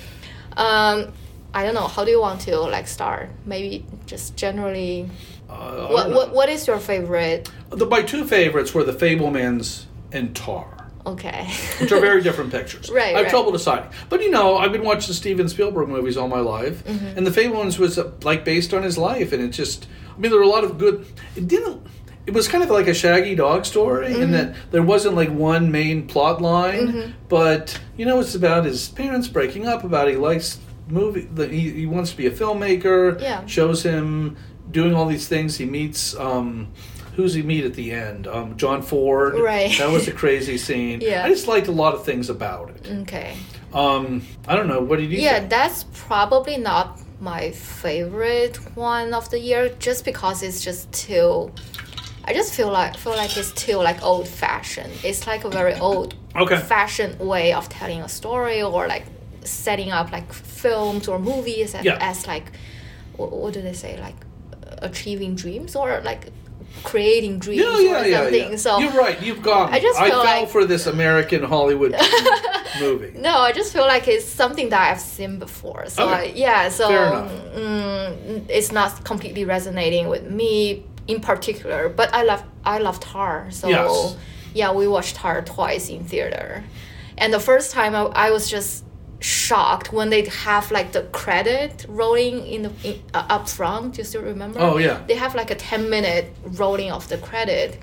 I don't know. How do you want to start? Maybe just generally. What is your favorite? My two favorites were The Fabelmans and Tar. Okay. Which are very different pictures. Right. I have trouble deciding. But I've been watching Steven Spielberg movies all my life, and The Fabelmans was based on his life, and it just. I mean, there were a lot of good. It was kind of like a Shaggy Dog story in that there wasn't one main plot line, but it's about his parents breaking up. About he likes. He wants to be a filmmaker. Yeah. Shows him doing all these things. He meets who's he meet at the end? John Ford. Right. That was a crazy scene. Yeah. I just liked a lot of things about it. Okay. I don't know. What did you think? That's probably not my favorite one of the year, just because it's just too. I just feel like it's too old fashioned. It's a very old fashioned way of telling a story or setting up films or movies as what do they say, achieving dreams or creating dreams or something. So you're right. You've got. I fell for this American Hollywood movie. No, I just feel like it's something that I've seen before. So fair enough. It's not completely resonating with me in particular. But I love Tar. So we watched Tar twice in theater, and the first time I was just shocked when they have the credit rolling in up front. Do you still remember? Oh yeah. They have a 10-minute rolling of the credit,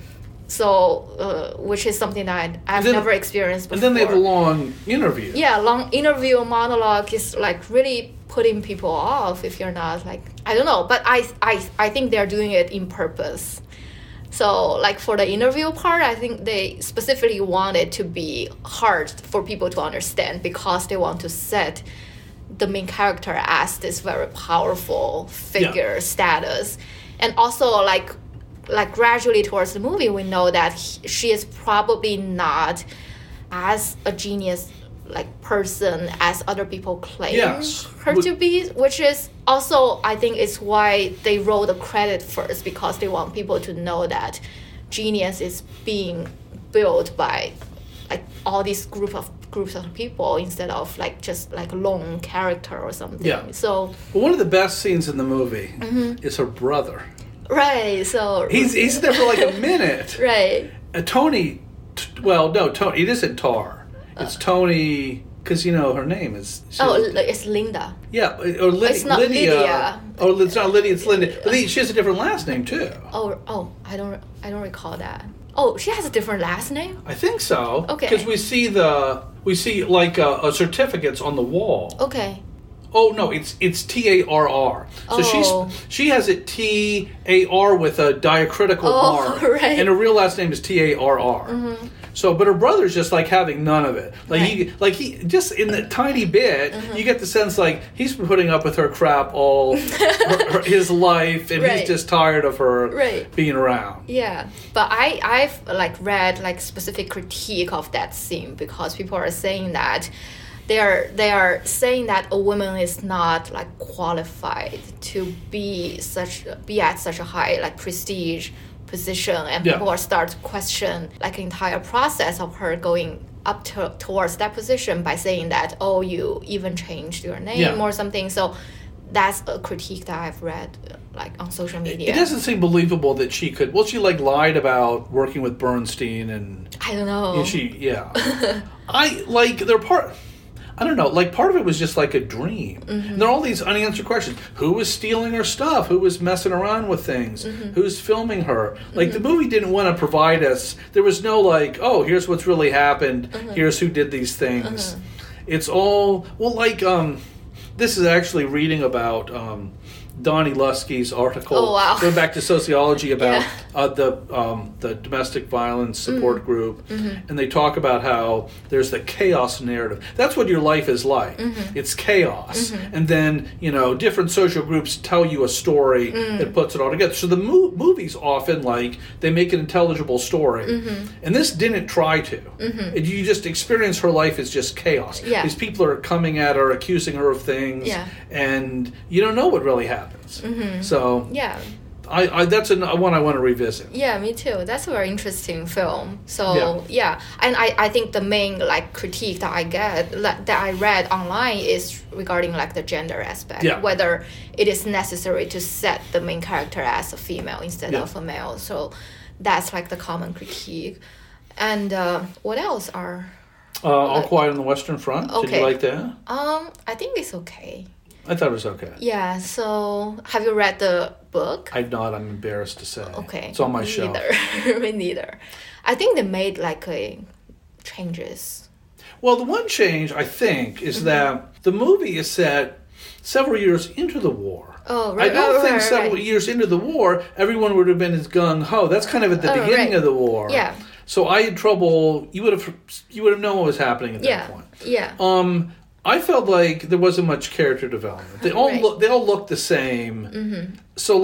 so which is something that I've never experienced before. And then they have a long interview. Yeah, long interview monologue is really putting people off if you're not I don't know, but I think they're doing it in purpose. So, for the interview part, I think they specifically want it to be hard for people to understand because they want to set the main character as this very powerful figure status. And also, gradually towards the movie, we know that she is probably not as a genius person as other people claim her to be, which is also, I think, is why they roll the credit first, because they want people to know that genius is being built by all these groups of people instead of just a lone character or something. Yeah. So one of the best scenes in the movie is her brother. Right. So he's there for a minute. Right. Tony. Tony. It isn't Tar. It's Tony, because her name is. It's Linda. Yeah, or it's not Lydia. Oh, it's not Lydia. It's Linda. But she has a different last name too. Oh, I don't recall that. Oh, she has a different last name? I think so. Okay. Because we see certificates on the wall. Okay. Oh no, it's Tarr. So she has it Tar with a diacritical R, right. and her real last name is Tarr. So, but her brother's just like having none of it. Like he just in the tiny bit, you get the sense like he's been putting up with her crap all his life, and he's just tired of her being around. Yeah, but I've like read like specific critique of that scene because people are saying that. They are saying that a woman is not like qualified to be at such a high like prestige position, and people are start to question like the entire process of her going up towards that position by saying that you even changed your name or something. So that's a critique that I've read like on social media. It doesn't seem believable that she could. Well, she like lied about working with Bernstein, and I don't know. I don't know, like part of it was just like a dream. And there are all these unanswered questions. Who was stealing her stuff? Who was messing around with things? Who's filming her? Like the movie didn't want to provide us, there was no like, here's what's really happened. Here's who did these things. It's all, this is actually reading about Donnie Lusky's article, going back to sociology about the domestic violence support group, and they talk about how there's the chaos narrative. That's what your life is like. It's chaos, and then different social groups tell you a story that puts it all together. So the movies often they make an intelligible story, and this didn't try to. You just experience her life as just chaos. These people are coming at her, accusing her of things, and you don't know what really happens. So I that's one I want to revisit. Yeah, me too. That's a very interesting film. So and I think the main critique that I get that I read online is regarding the gender aspect, whether it is necessary to set the main character as a female instead of a male. So that's the common critique. And what else are All Quiet on the Western Front? Okay. Did you like that? I think it's okay. I thought it was okay. Yeah, so have you read the book? I've not, I'm embarrassed to say. Okay. It's on my shelf. Me neither. I think they made changes. Well, the one change, I think, is that the movie is set several years into the war. Oh, right. I don't think several years into the war, everyone would have been as gung-ho. That's kind of at the beginning of the war. Yeah. So I had trouble, you would have known what was happening at that point. Yeah. I felt like there wasn't much character development. They all look the same. So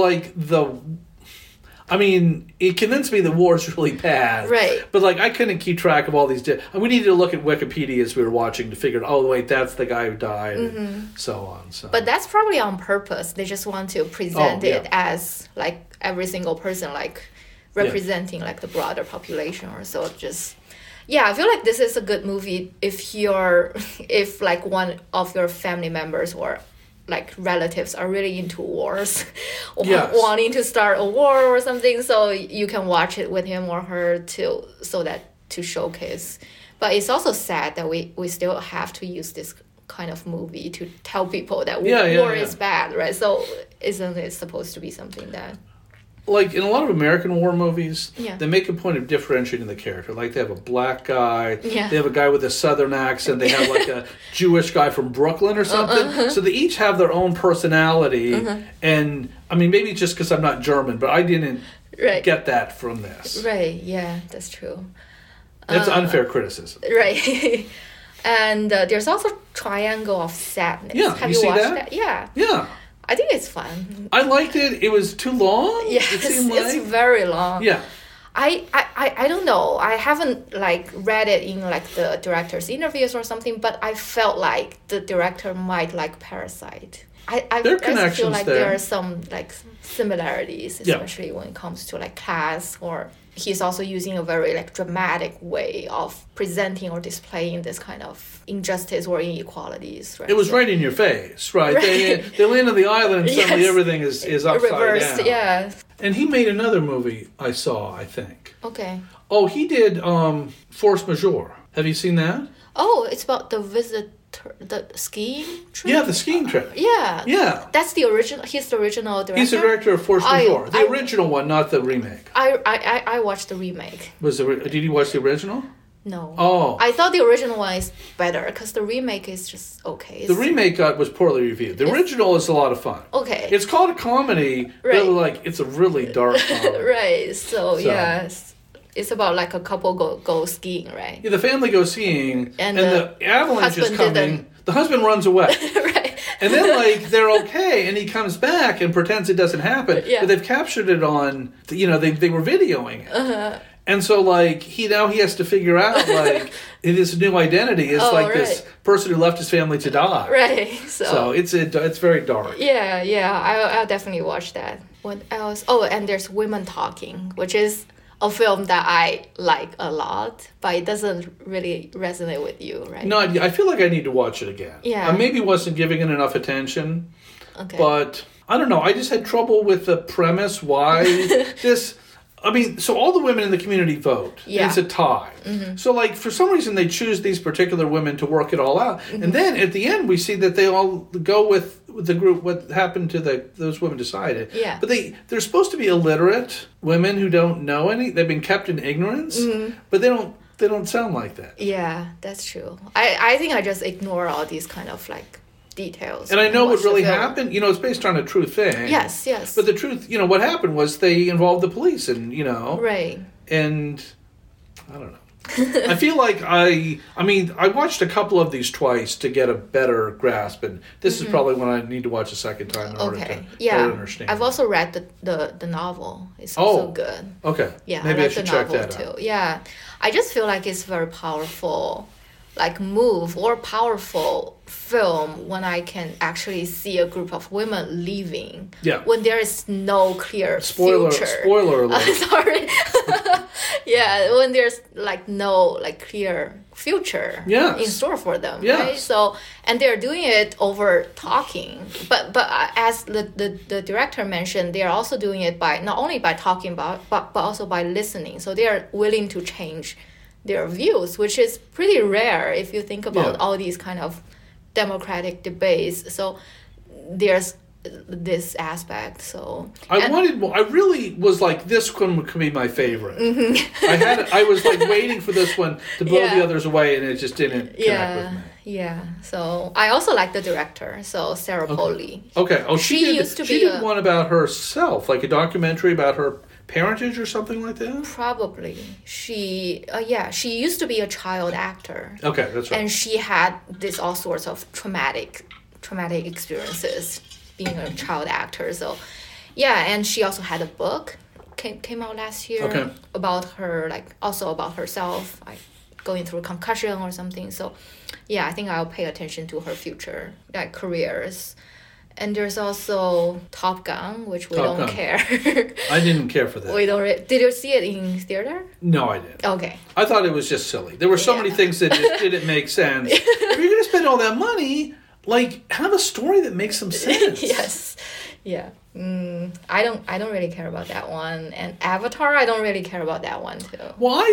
it convinced me the war is really bad. Right. But I couldn't keep track of all these. We needed to look at Wikipedia as we were watching to figure out, wait, that's the guy who died, and so on. So. But that's probably on purpose. They just want to present it as every single person representing the broader population or so. Just. Yeah, I feel like this is a good movie if one of your family members or relatives are really into wars or wanting to start a war or something, so you can watch it with him or her to showcase. But it's also sad that we still have to use this kind of movie to tell people that war is bad, right? So isn't it supposed to be something that... in a lot of American war movies, they make a point of differentiating the character. They have a black guy, they have a guy with a southern accent, they have a Jewish guy from Brooklyn or something. So they each have their own personality. And, maybe it's just because I'm not German, but I didn't get that from this. Right, yeah, that's true. That's unfair criticism. Right. And there's also Triangle of Sadness. Yeah, have you watched that? Yeah. Yeah. I think it's fun. I liked it. It was too long. Yes, it's very long. Yeah. I don't know. I haven't read it in the director's interviews or something, but I felt like the director might like Parasite. I feel like there are some similarities, especially when it comes to class, or he's also using a very dramatic way of presenting or displaying this kind of injustice or inequalities. Right? It was right in your face, right? They land on the island and suddenly everything is upside reversed, down. Yeah. And he made another movie I saw, I think. Okay. Oh, he did Force Majeure. Have you seen that? Oh, it's about the the skiing trip? Yeah, the skiing trip. Yeah. Yeah. That's the original. He's the original director. He's the director of Force Majeure. The original one, not the remake. I watched the remake. Did you watch the original? No. Oh. I thought the original one is better because the remake is just okay. The remake was poorly reviewed. The original is a lot of fun. Okay. It's called a comedy, but like it's a really dark comedy. Right. So yes. It's about like a couple go skiing, right? Yeah, the family goes skiing, and the avalanche is coming. The husband runs away. Right. And then, like, they're okay, and he comes back and pretends it doesn't happen. Yeah. But they've captured it on, they were videoing it. Uh-huh. And so, like, he has to figure out, like, his new identity is this person who left his family to die. Right. So it's very dark. Yeah. I'll definitely watch that. What else? Oh, and there's Women Talking, which is a film that I like a lot, but it doesn't really resonate with you, right? No, I feel like I need to watch it again. Yeah. I maybe wasn't giving it enough attention. Okay. But, I don't know, I just had trouble with the premise, why so all the women in the community vote. Yeah. It's a tie. Mm-hmm. So, like, for some reason, they choose these particular women to work it all out. Mm-hmm. And then, at the end, we see that they all go with the group, what happened to those women decided. Yeah. But they're supposed to be illiterate women who don't know any. They've been kept in ignorance. Mm-hmm. But they don't sound like that. Yeah, that's true. I think I just ignore all these kind of, like, details. And I know what really happened. It's based on a true thing. Yes. But the truth, what happened was they involved the police and, Right. And I don't know. I feel like I watched a couple of these twice to get a better grasp, and this is probably when I need to watch a second time in order to better understand. I've also read the novel. It's also good. Okay. Yeah, maybe I should the check novel that too. out. Yeah. I just feel like it's very powerful, like move or powerful film when I can actually see a group of women leaving. Yeah. When there is no clear Spoiler future. Sorry. Yeah, when there's like no like clear future in store for them, right? So, and they're doing it over talking, but as the director mentioned, they are also doing it by not only by talking about but also by listening. So they are willing to change their views, which is pretty rare if you think about all these kind of democratic debates. So there's this aspect. So I really was like, this one could be my favorite. Mm-hmm. I was like waiting for this one to blow the others away, and it just didn't connect with me. Yeah. So I also like the director, so Sarah Polley. Okay. Oh, she did one about herself, like a documentary about her parentage or something like that? Probably. She used to be a child actor. Okay, that's right. And she had all sorts of traumatic experiences being a child actor. So, yeah, and she also had a book came out last year about her, like also about herself, like going through concussion or something. So, yeah, I think I'll pay attention to her future like careers. And there's also Top Gun, which we don't care. I didn't care for that. We don't. Did you see it in theater? No, I didn't. Okay. I thought it was just silly. There were so many things that just didn't make sense. If you're going to spend all that money, like, have a story that makes some sense. Yes. Yeah. I don't really care about that one. And Avatar, I don't really care about that one too.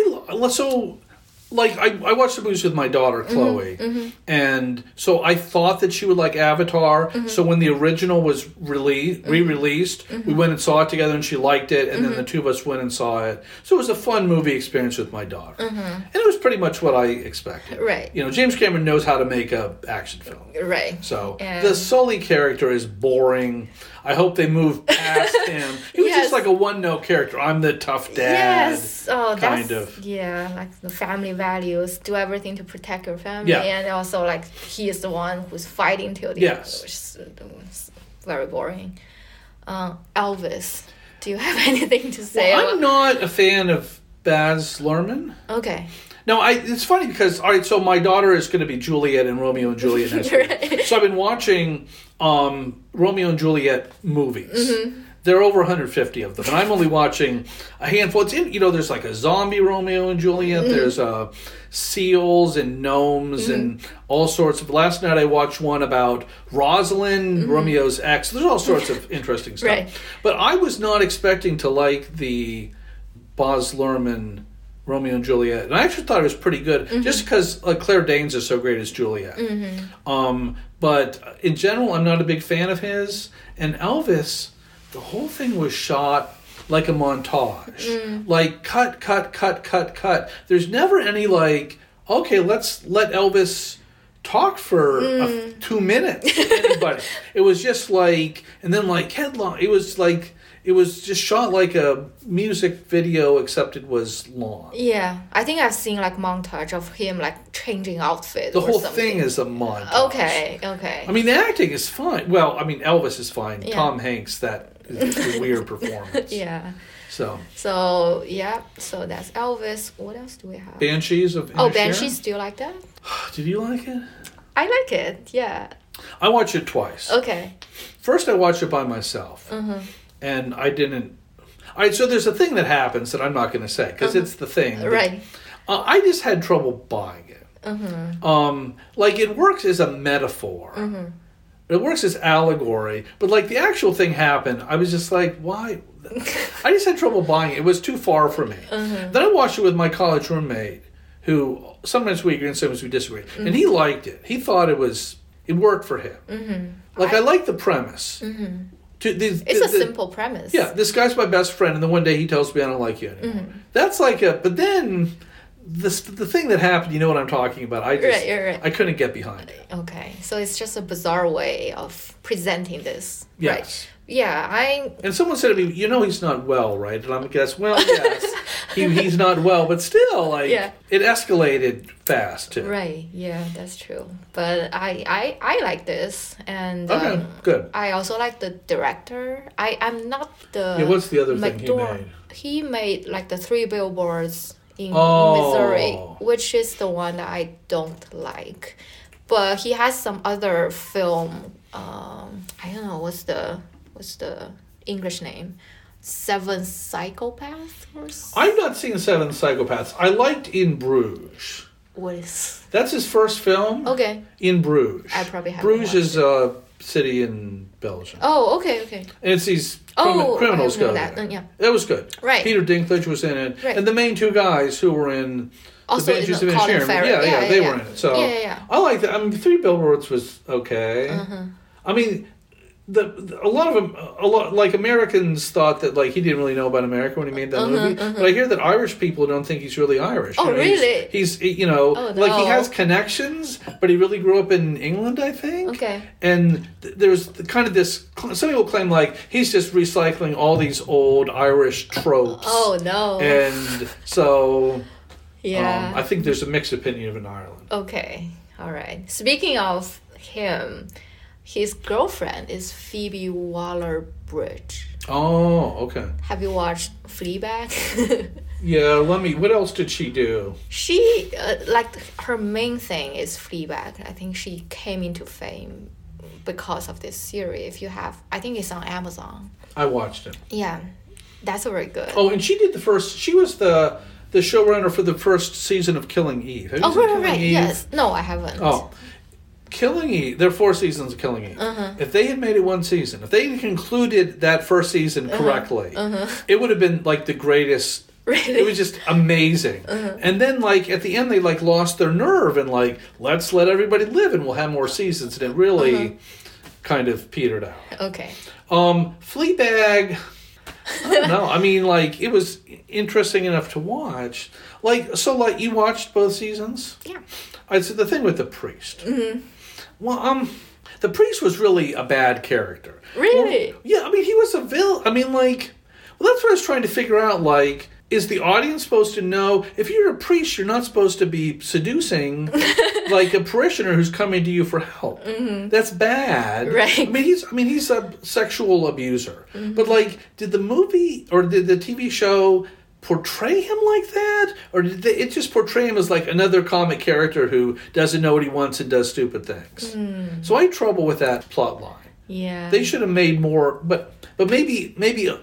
Well, like, I watched the movies with my daughter, Chloe, and so I thought that she would like Avatar, so when the original was re-released, we went and saw it together, and she liked it, and then the two of us went and saw it. So it was a fun movie experience with my daughter. And it was pretty much what I expected. Right. James Cameron knows how to make an action film. Right. So the Sully character is boring. I hope they move past him. He was just like a one-note character. I'm the tough dad. Yes. Oh, yeah, like the family values. Do everything to protect your family. Yeah. And also, like, he is the one who's fighting till the end, which is very boring. Elvis, do you have anything to say? Well, I'm not a fan of Baz Luhrmann. Okay. No, it's funny because, all right, so my daughter is going to be Juliet in Romeo and Juliet next week. Right. So I've been watching Romeo and Juliet movies. There are over 150 of them, and I'm only watching a handful. It's there's like a zombie Romeo and Juliet. There's seals and gnomes and all sorts of. Last night I watched one about Rosalind, Romeo's ex. There's all sorts of interesting stuff. Right. But I was not expecting to like the Baz Luhrmann Romeo and Juliet, and I actually thought it was pretty good, just because Claire Danes is so great as Juliet. But in general, I'm not a big fan of his. And Elvis, the whole thing was shot like a montage. Like, cut. There's never any, like, okay, let's let Elvis talk for 2 minutes to anybody. It was just like, and then like headline, it was just shot like a music video, except it was long. Yeah, I think I've seen like montage of him like changing outfit. The whole thing is a montage. Okay. I mean, the acting is fine. Well, I mean, Elvis is fine. Yeah. Tom Hanks, that is a weird performance. Yeah. So yeah. So that's Elvis. What else do we have? Banshees of Inisherin. Oh, Banshees. Do you like that? Did you like it? I like it. Yeah. I watched it twice. Okay. First, I watched it by myself. And I didn't... so there's a thing that happens that I'm not going to say, because it's the thing. Right. I just had trouble buying it. Like, it works as a metaphor. It works as allegory. But, like, the actual thing happened, I was just like, why? I just had trouble buying it. It was too far for me. Then I watched it with my college roommate, who sometimes we agree and sometimes we disagree. And he liked it. He thought it worked for him. Like, I like the premise. It's a simple premise. Yeah, this guy's my best friend, and then one day he tells me I don't like you anymore. That's like but then the thing that happened, you know what I'm talking about. Right. I couldn't get behind it. Okay, so it's just a bizarre way of presenting this. Yes. Right. Yeah, And someone said to me, you know he's not well, right? And I'm guess, well, yes, he's not well, but still, like, it escalated fast, too. Right, yeah, that's true. But I like this, and okay, good. I also like the director. I'm not the... Yeah, what's the other thing he made? He made, like, the 3 Billboards in Missouri, which is the one that I don't like. But he has some other film, I don't know, what's the English name? Seven Psychopaths? I've not seen Seven Psychopaths. I liked In Bruges. What is... That's his first film? Okay. In Bruges. I probably haven't Bruges is a city in Belgium. Oh, okay. And it's these criminals go there. Yeah. That was good. Right. Peter Dinklage was in it. Right. And the main 2 guys who were in... Also the Banshees of Colin Farrell. Yeah, they were in it. So I like that. I mean, 3 Billboards was okay. I mean... A lot like Americans thought that like he didn't really know about America when he made that movie. But I hear that Irish people don't think he's really Irish. Oh, really? He's like he has connections, but he really grew up in England, I think. Okay. And there's kind of this. Some people claim like he's just recycling all these old Irish tropes. Oh no. And so. Yeah. I think there's a mixed opinion of in Ireland. Okay. All right. Speaking of him. His girlfriend is Phoebe Waller-Bridge. Oh, okay. Have you watched Fleabag? Yeah, what else did she do? She, her main thing is Fleabag. I think she came into fame because of this series. I think it's on Amazon. I watched it. Yeah, that's very good. Oh, and she was the showrunner for the first season of Killing Eve. Have you seen right. Eve? Yes. No, I haven't. Oh. Killing Eve, there are 4 seasons of Killing Eve. If they had made it 1 season, if they had concluded that first season correctly, it would have been like the greatest. Really? It was just amazing. And then like at the end they like lost their nerve and like let's let everybody live and we'll have more seasons, and it really kind of petered out. Okay. Fleabag, I don't know. I mean, like it was interesting enough to watch. Like you watched both seasons? Yeah. I'd say the thing with the priest. Well, the priest was really a bad character. Really? Well, yeah, I mean, he was a villain. I mean, like, that's what I was trying to figure out. Like, is the audience supposed to know if you're a priest, you're not supposed to be seducing like a parishioner who's coming to you for help? That's bad. Right. I mean, he's a sexual abuser. But like, did the movie or did the TV show portray him like that, or did it just portray him as like another comic character who doesn't know what he wants and does stupid things? So I had trouble with that plot line. Yeah, they should have made more, but maybe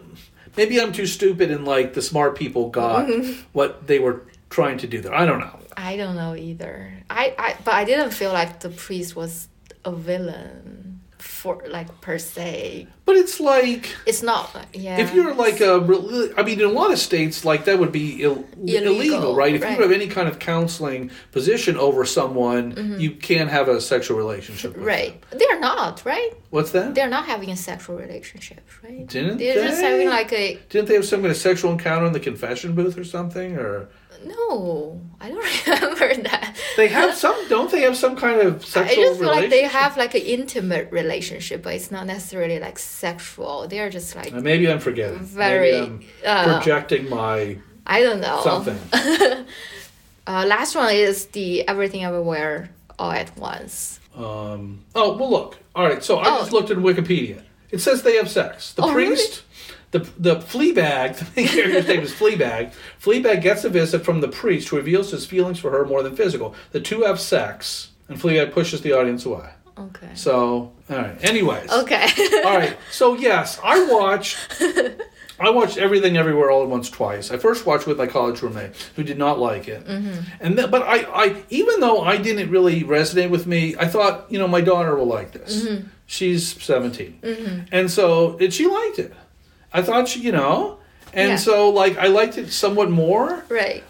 I'm too stupid and like the smart people got what they were trying to do there. I don't know. I don't know either. But I didn't feel like the priest was a villain. for like per se. But it's like it's not. Yeah. If you're like I mean, in a lot of states, like that would be illegal, right? If you have any kind of counseling position over someone, you can't have a sexual relationship with them. They're not, right? What's that? They're not having a sexual relationship, right? They're just having like a... Didn't they have some kind of sexual encounter in the confession booth or something? Or no, I don't remember that. They have some, don't they have some kind of sexual relationship? I just feel like they have like an intimate relationship, but it's not necessarily like sexual. They're just like... maybe I'm forgetting. Maybe I'm projecting my... I don't know. Something. Last one is the Everything Everywhere All at Once. Well, look. All right, so I just looked at Wikipedia. It says they have sex. The priest... Really? The Fleabag, the main character's name is Fleabag. Fleabag gets a visit from the priest who reveals his feelings for her more than physical. The two have sex, and Fleabag pushes the audience away. Okay. So, all right. Anyways. Okay. All right. So, yes, I watched Everything Everywhere All at Once twice. I first watched with my college roommate, who did not like it. But I even though I didn't really resonate with me, I thought, my daughter will like this. She's 17. And so, she liked it. I thought she, so like I liked it somewhat more. Right.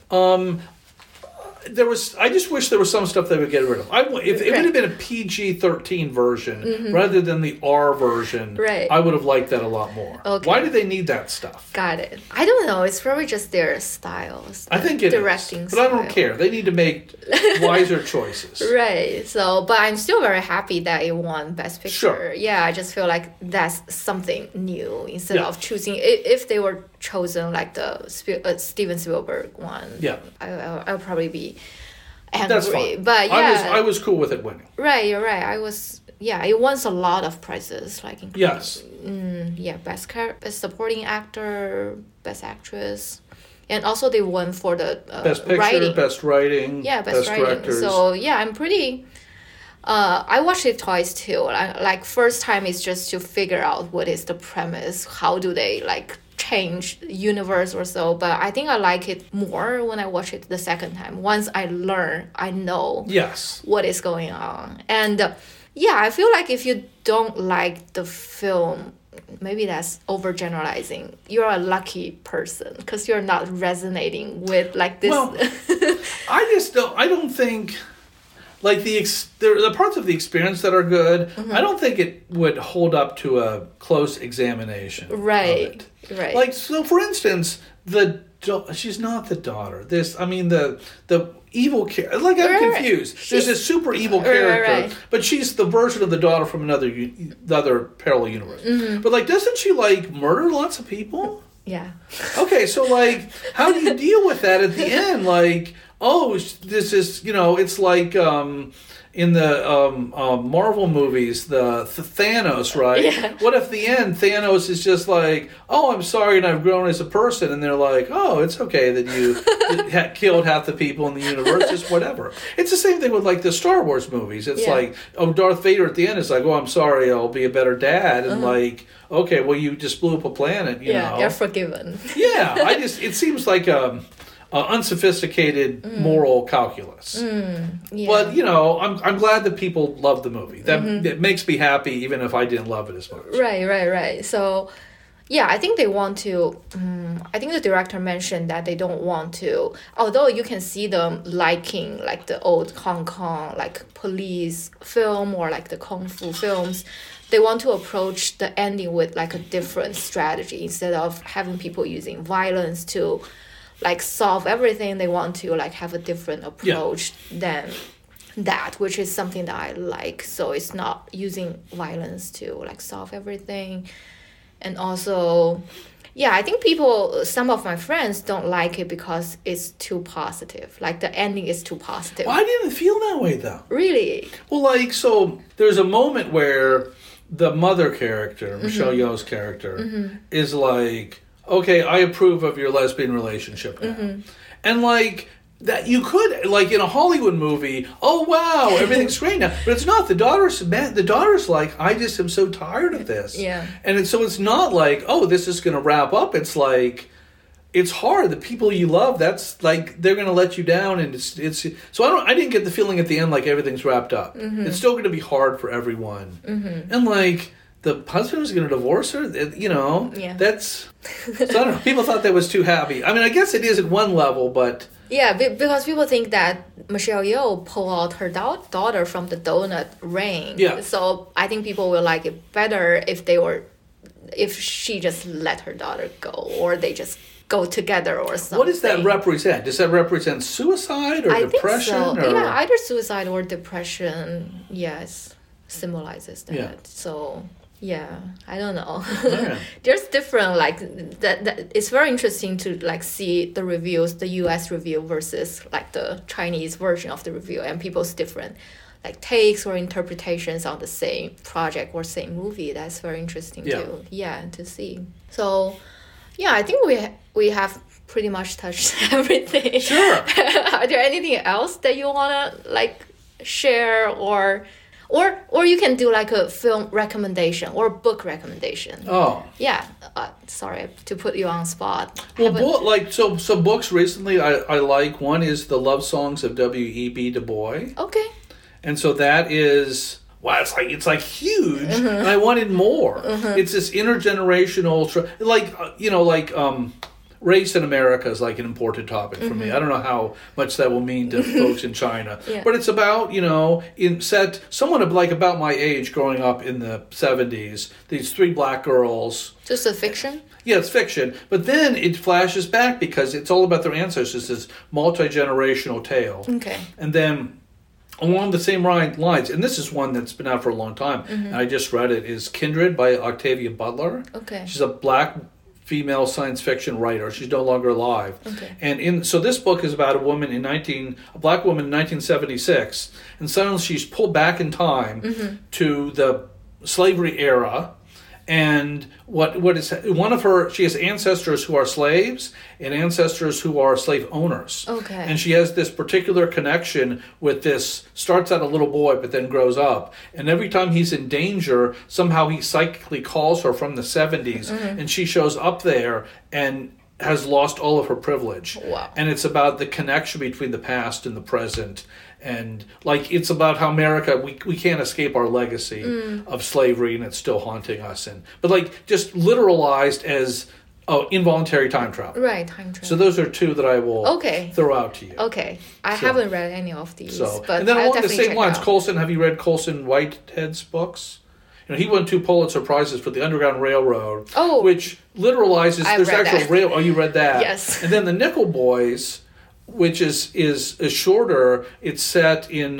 I just wish there was some stuff they would get rid of. If it would have been a PG-13 version rather than the R version, I would have liked that a lot more. Okay. Why do they need that stuff? Got it. I don't know. It's probably just their styles. I think it directing is. But I don't care. They need to make wiser choices. Right. So, but I'm still very happy that it won Best Picture. Sure. Yeah, I just feel like that's something new instead of choosing... If they were chosen like the Steven Spielberg one, I'll probably be angry. That's fine. But I was cool with it winning. Right, you're right. I was. Yeah, it won a lot of prizes, like including, best supporting actor, best actress, and also they won for the best picture, writing. Best writing, best writing. Directors. So I'm pretty. I watched it twice too. Like first time is just to figure out what is the premise. How do they like change the universe or so? But I think I like it more when I watch it the second time. Once I learn, I know what is going on. And I feel like if you don't like the film, maybe that's overgeneralizing. You're a lucky person because you're not resonating with like this. Well, I don't think... Like the parts of the experience that are good, I don't think it would hold up to a close examination. Right. Of it. Right. Like, so for instance, she's not the daughter. The evil character. Like, I'm confused. There's this super evil character, but she's the version of the daughter from the other parallel universe. But like, doesn't she like murder lots of people? Yeah. Okay, so like, how do you deal with that at the end? Like, this is, it's like in the Marvel movies, the Thanos, right? Yeah. What if the end, Thanos is just like, I'm sorry and I've grown as a person, and they're like, it's okay that you killed half the people in the universe, just whatever. It's the same thing with like the Star Wars movies. It's like, Darth Vader at the end is like, I'm sorry, I'll be a better dad, and like, okay, well, you just blew up a planet, you know. You're forgiven. It seems like unsophisticated moral calculus. But, I'm glad that people love the movie. That makes me happy even if I didn't love it as much. Right. So, I think they want to... I think the director mentioned that they don't want to... Although you can see them liking like the old Hong Kong like police film or like the Kung Fu films, they want to approach the ending with like a different strategy. Instead of having people using violence to like solve everything, they want to like have a different approach than that, which is something that I like. So it's not using violence to like solve everything. And also, I think some of my friends don't like it because it's too positive. Like the ending is too positive. Well, I didn't feel that way though. Really? Well, like, so there's a moment where the mother character, Michelle Yeoh's character, is like, okay, I approve of your lesbian relationship now. And like, that you could, like in a Hollywood movie, wow, everything's great now. But it's not. The daughter's like, I just am so tired of this. Yeah. And so it's not like, this is going to wrap up. It's like, it's hard. The people you love, that's like they're going to let you down, and it's. So I didn't get the feeling at the end like everything's wrapped up. Mm-hmm. It's still going to be hard for everyone, and like the husband was going to divorce her. That's. So I don't know. People thought that was too happy. I mean, I guess it is at one level, but. Yeah, because people think that Michelle Yeoh pulled out her daughter from the donut ring. Yeah. So I think people will like it better if she just let her daughter go, or they just go together or something. What does that represent? Does that represent suicide or depression? I think so. Or? Yeah, either suicide or depression. Yes, symbolizes that. Yeah. So. Yeah, I don't know. Yeah. There's different that. It's very interesting to see the reviews, the U.S. review versus the Chinese version of the review, and people's different takes or interpretations on the same project or same movie. That's very interesting too. Yeah, to see. So, yeah, I think we have pretty much touched everything. Sure. Are there anything else that you wanna share or you can do a film recommendation or book recommendation. Oh. Yeah. Sorry to put you on spot. Well, so books recently I like. One is The Love Songs of W.E.B. Du Bois. Okay. And so that is it's huge, and I wanted more. It's this intergenerational race in America is an important topic for me. I don't know how much that will mean to folks in China. Yeah. But it's about, someone about my age growing up in the 70s, these 3 black girls. Just a fiction? Yeah, it's fiction. But then it flashes back because it's all about their ancestors, this multi-generational tale. Okay. And then along the same lines, and this is one that's been out for a long time, and I just read it, is Kindred by Octavia Butler. Okay. She's a black female science fiction writer. She's no longer alive. Okay. And so this book is about a black woman in 1976, and suddenly she's pulled back in time to the slavery era. And she has ancestors who are slaves and ancestors who are slave owners. Okay. And she has this particular connection with this, starts out a little boy but then grows up. And every time he's in danger, somehow he psychically calls her from the 70s and she shows up there and has lost all of her privilege. Wow. And it's about the connection between the past and the present. And it's about how America, we can't escape our legacy of slavery, and it's still haunting us. But just literalized as involuntary time travel. Right, time travel. So those are 2 that I will throw out to you. Okay, I haven't read any of these. But and then I'll along the same lines, out. Colson. Have you read Colson Whitehead's books? He won 2 Pulitzer Prizes for The Underground Railroad, which literalizes there's actual rail. Oh, you read that? Yes. And then The Nickel Boys, which is shorter. It's set in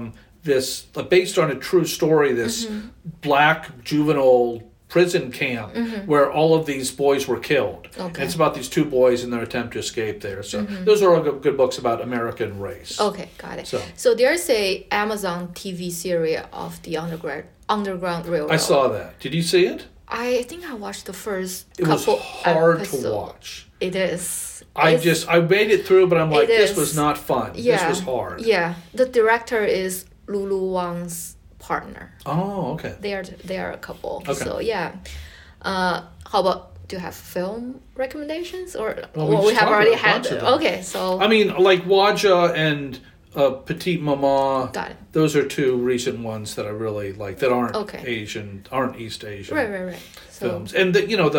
based on a true story, this black juvenile prison camp where all of these boys were killed. Okay. And it's about these 2 boys and their attempt to escape there. So those are all good books about American race. Okay, got it. So there's a Amazon TV series of the Underground Railroad. I saw that. Did you see it? I think I watched the first couple episodes. It was hard to watch. It is. I made it through, but I'm like, this was not fun. Yeah. This was hard. Yeah. The director is Lulu Wang's partner. Oh, okay. They are a couple. Okay. So yeah. How about, do you have film recommendations or we have already had? Okay, so I mean, Waja and Petite Maman. Got it. Those are 2 recent ones that I really like that aren't aren't East Asian. Right. Films. And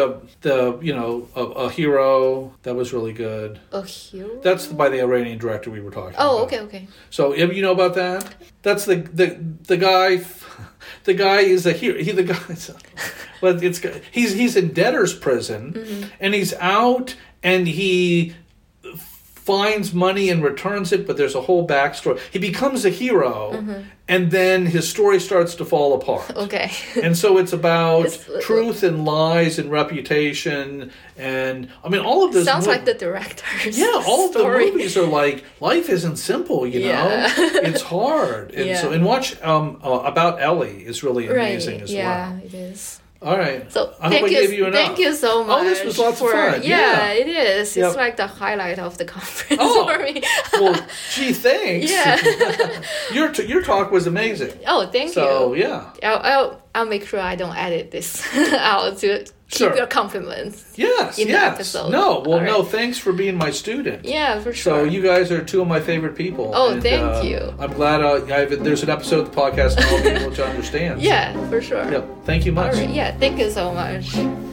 A Hero, that was really good. A Hero? That's by the Iranian director we were talking about. Oh, okay. So you know about that? That's the guy. The guy is a hero. He's in debtor's prison, and he's out, and he finds money and returns it, but there's a whole backstory. He becomes a hero, and then his story starts to fall apart. Okay. And so it's about truth and lies and reputation, and I mean all of this sounds like the director's all of story. the movies are life isn't simple, know. It's hard. And watch About Ellie is really amazing as well. Yeah, it is. All right. So I hope I gave you enough. Thank you so much. Oh, this was lots of fun. Yeah, it is. It's like the highlight of the conference for me. Well, gee, thanks. Yeah. Your talk was amazing. Oh, thank you. So, yeah. I'll make sure I don't edit this out to keep your compliments. Yes, in the episode. No, well, no, thanks for being my student. Yeah, for sure. So you guys are two of my favorite people. Oh, thank you. I'm glad there's an episode of the podcast and I'll be able to understand. Yeah, for sure. Yep. Thank you much. All right. Yeah, thank you so much.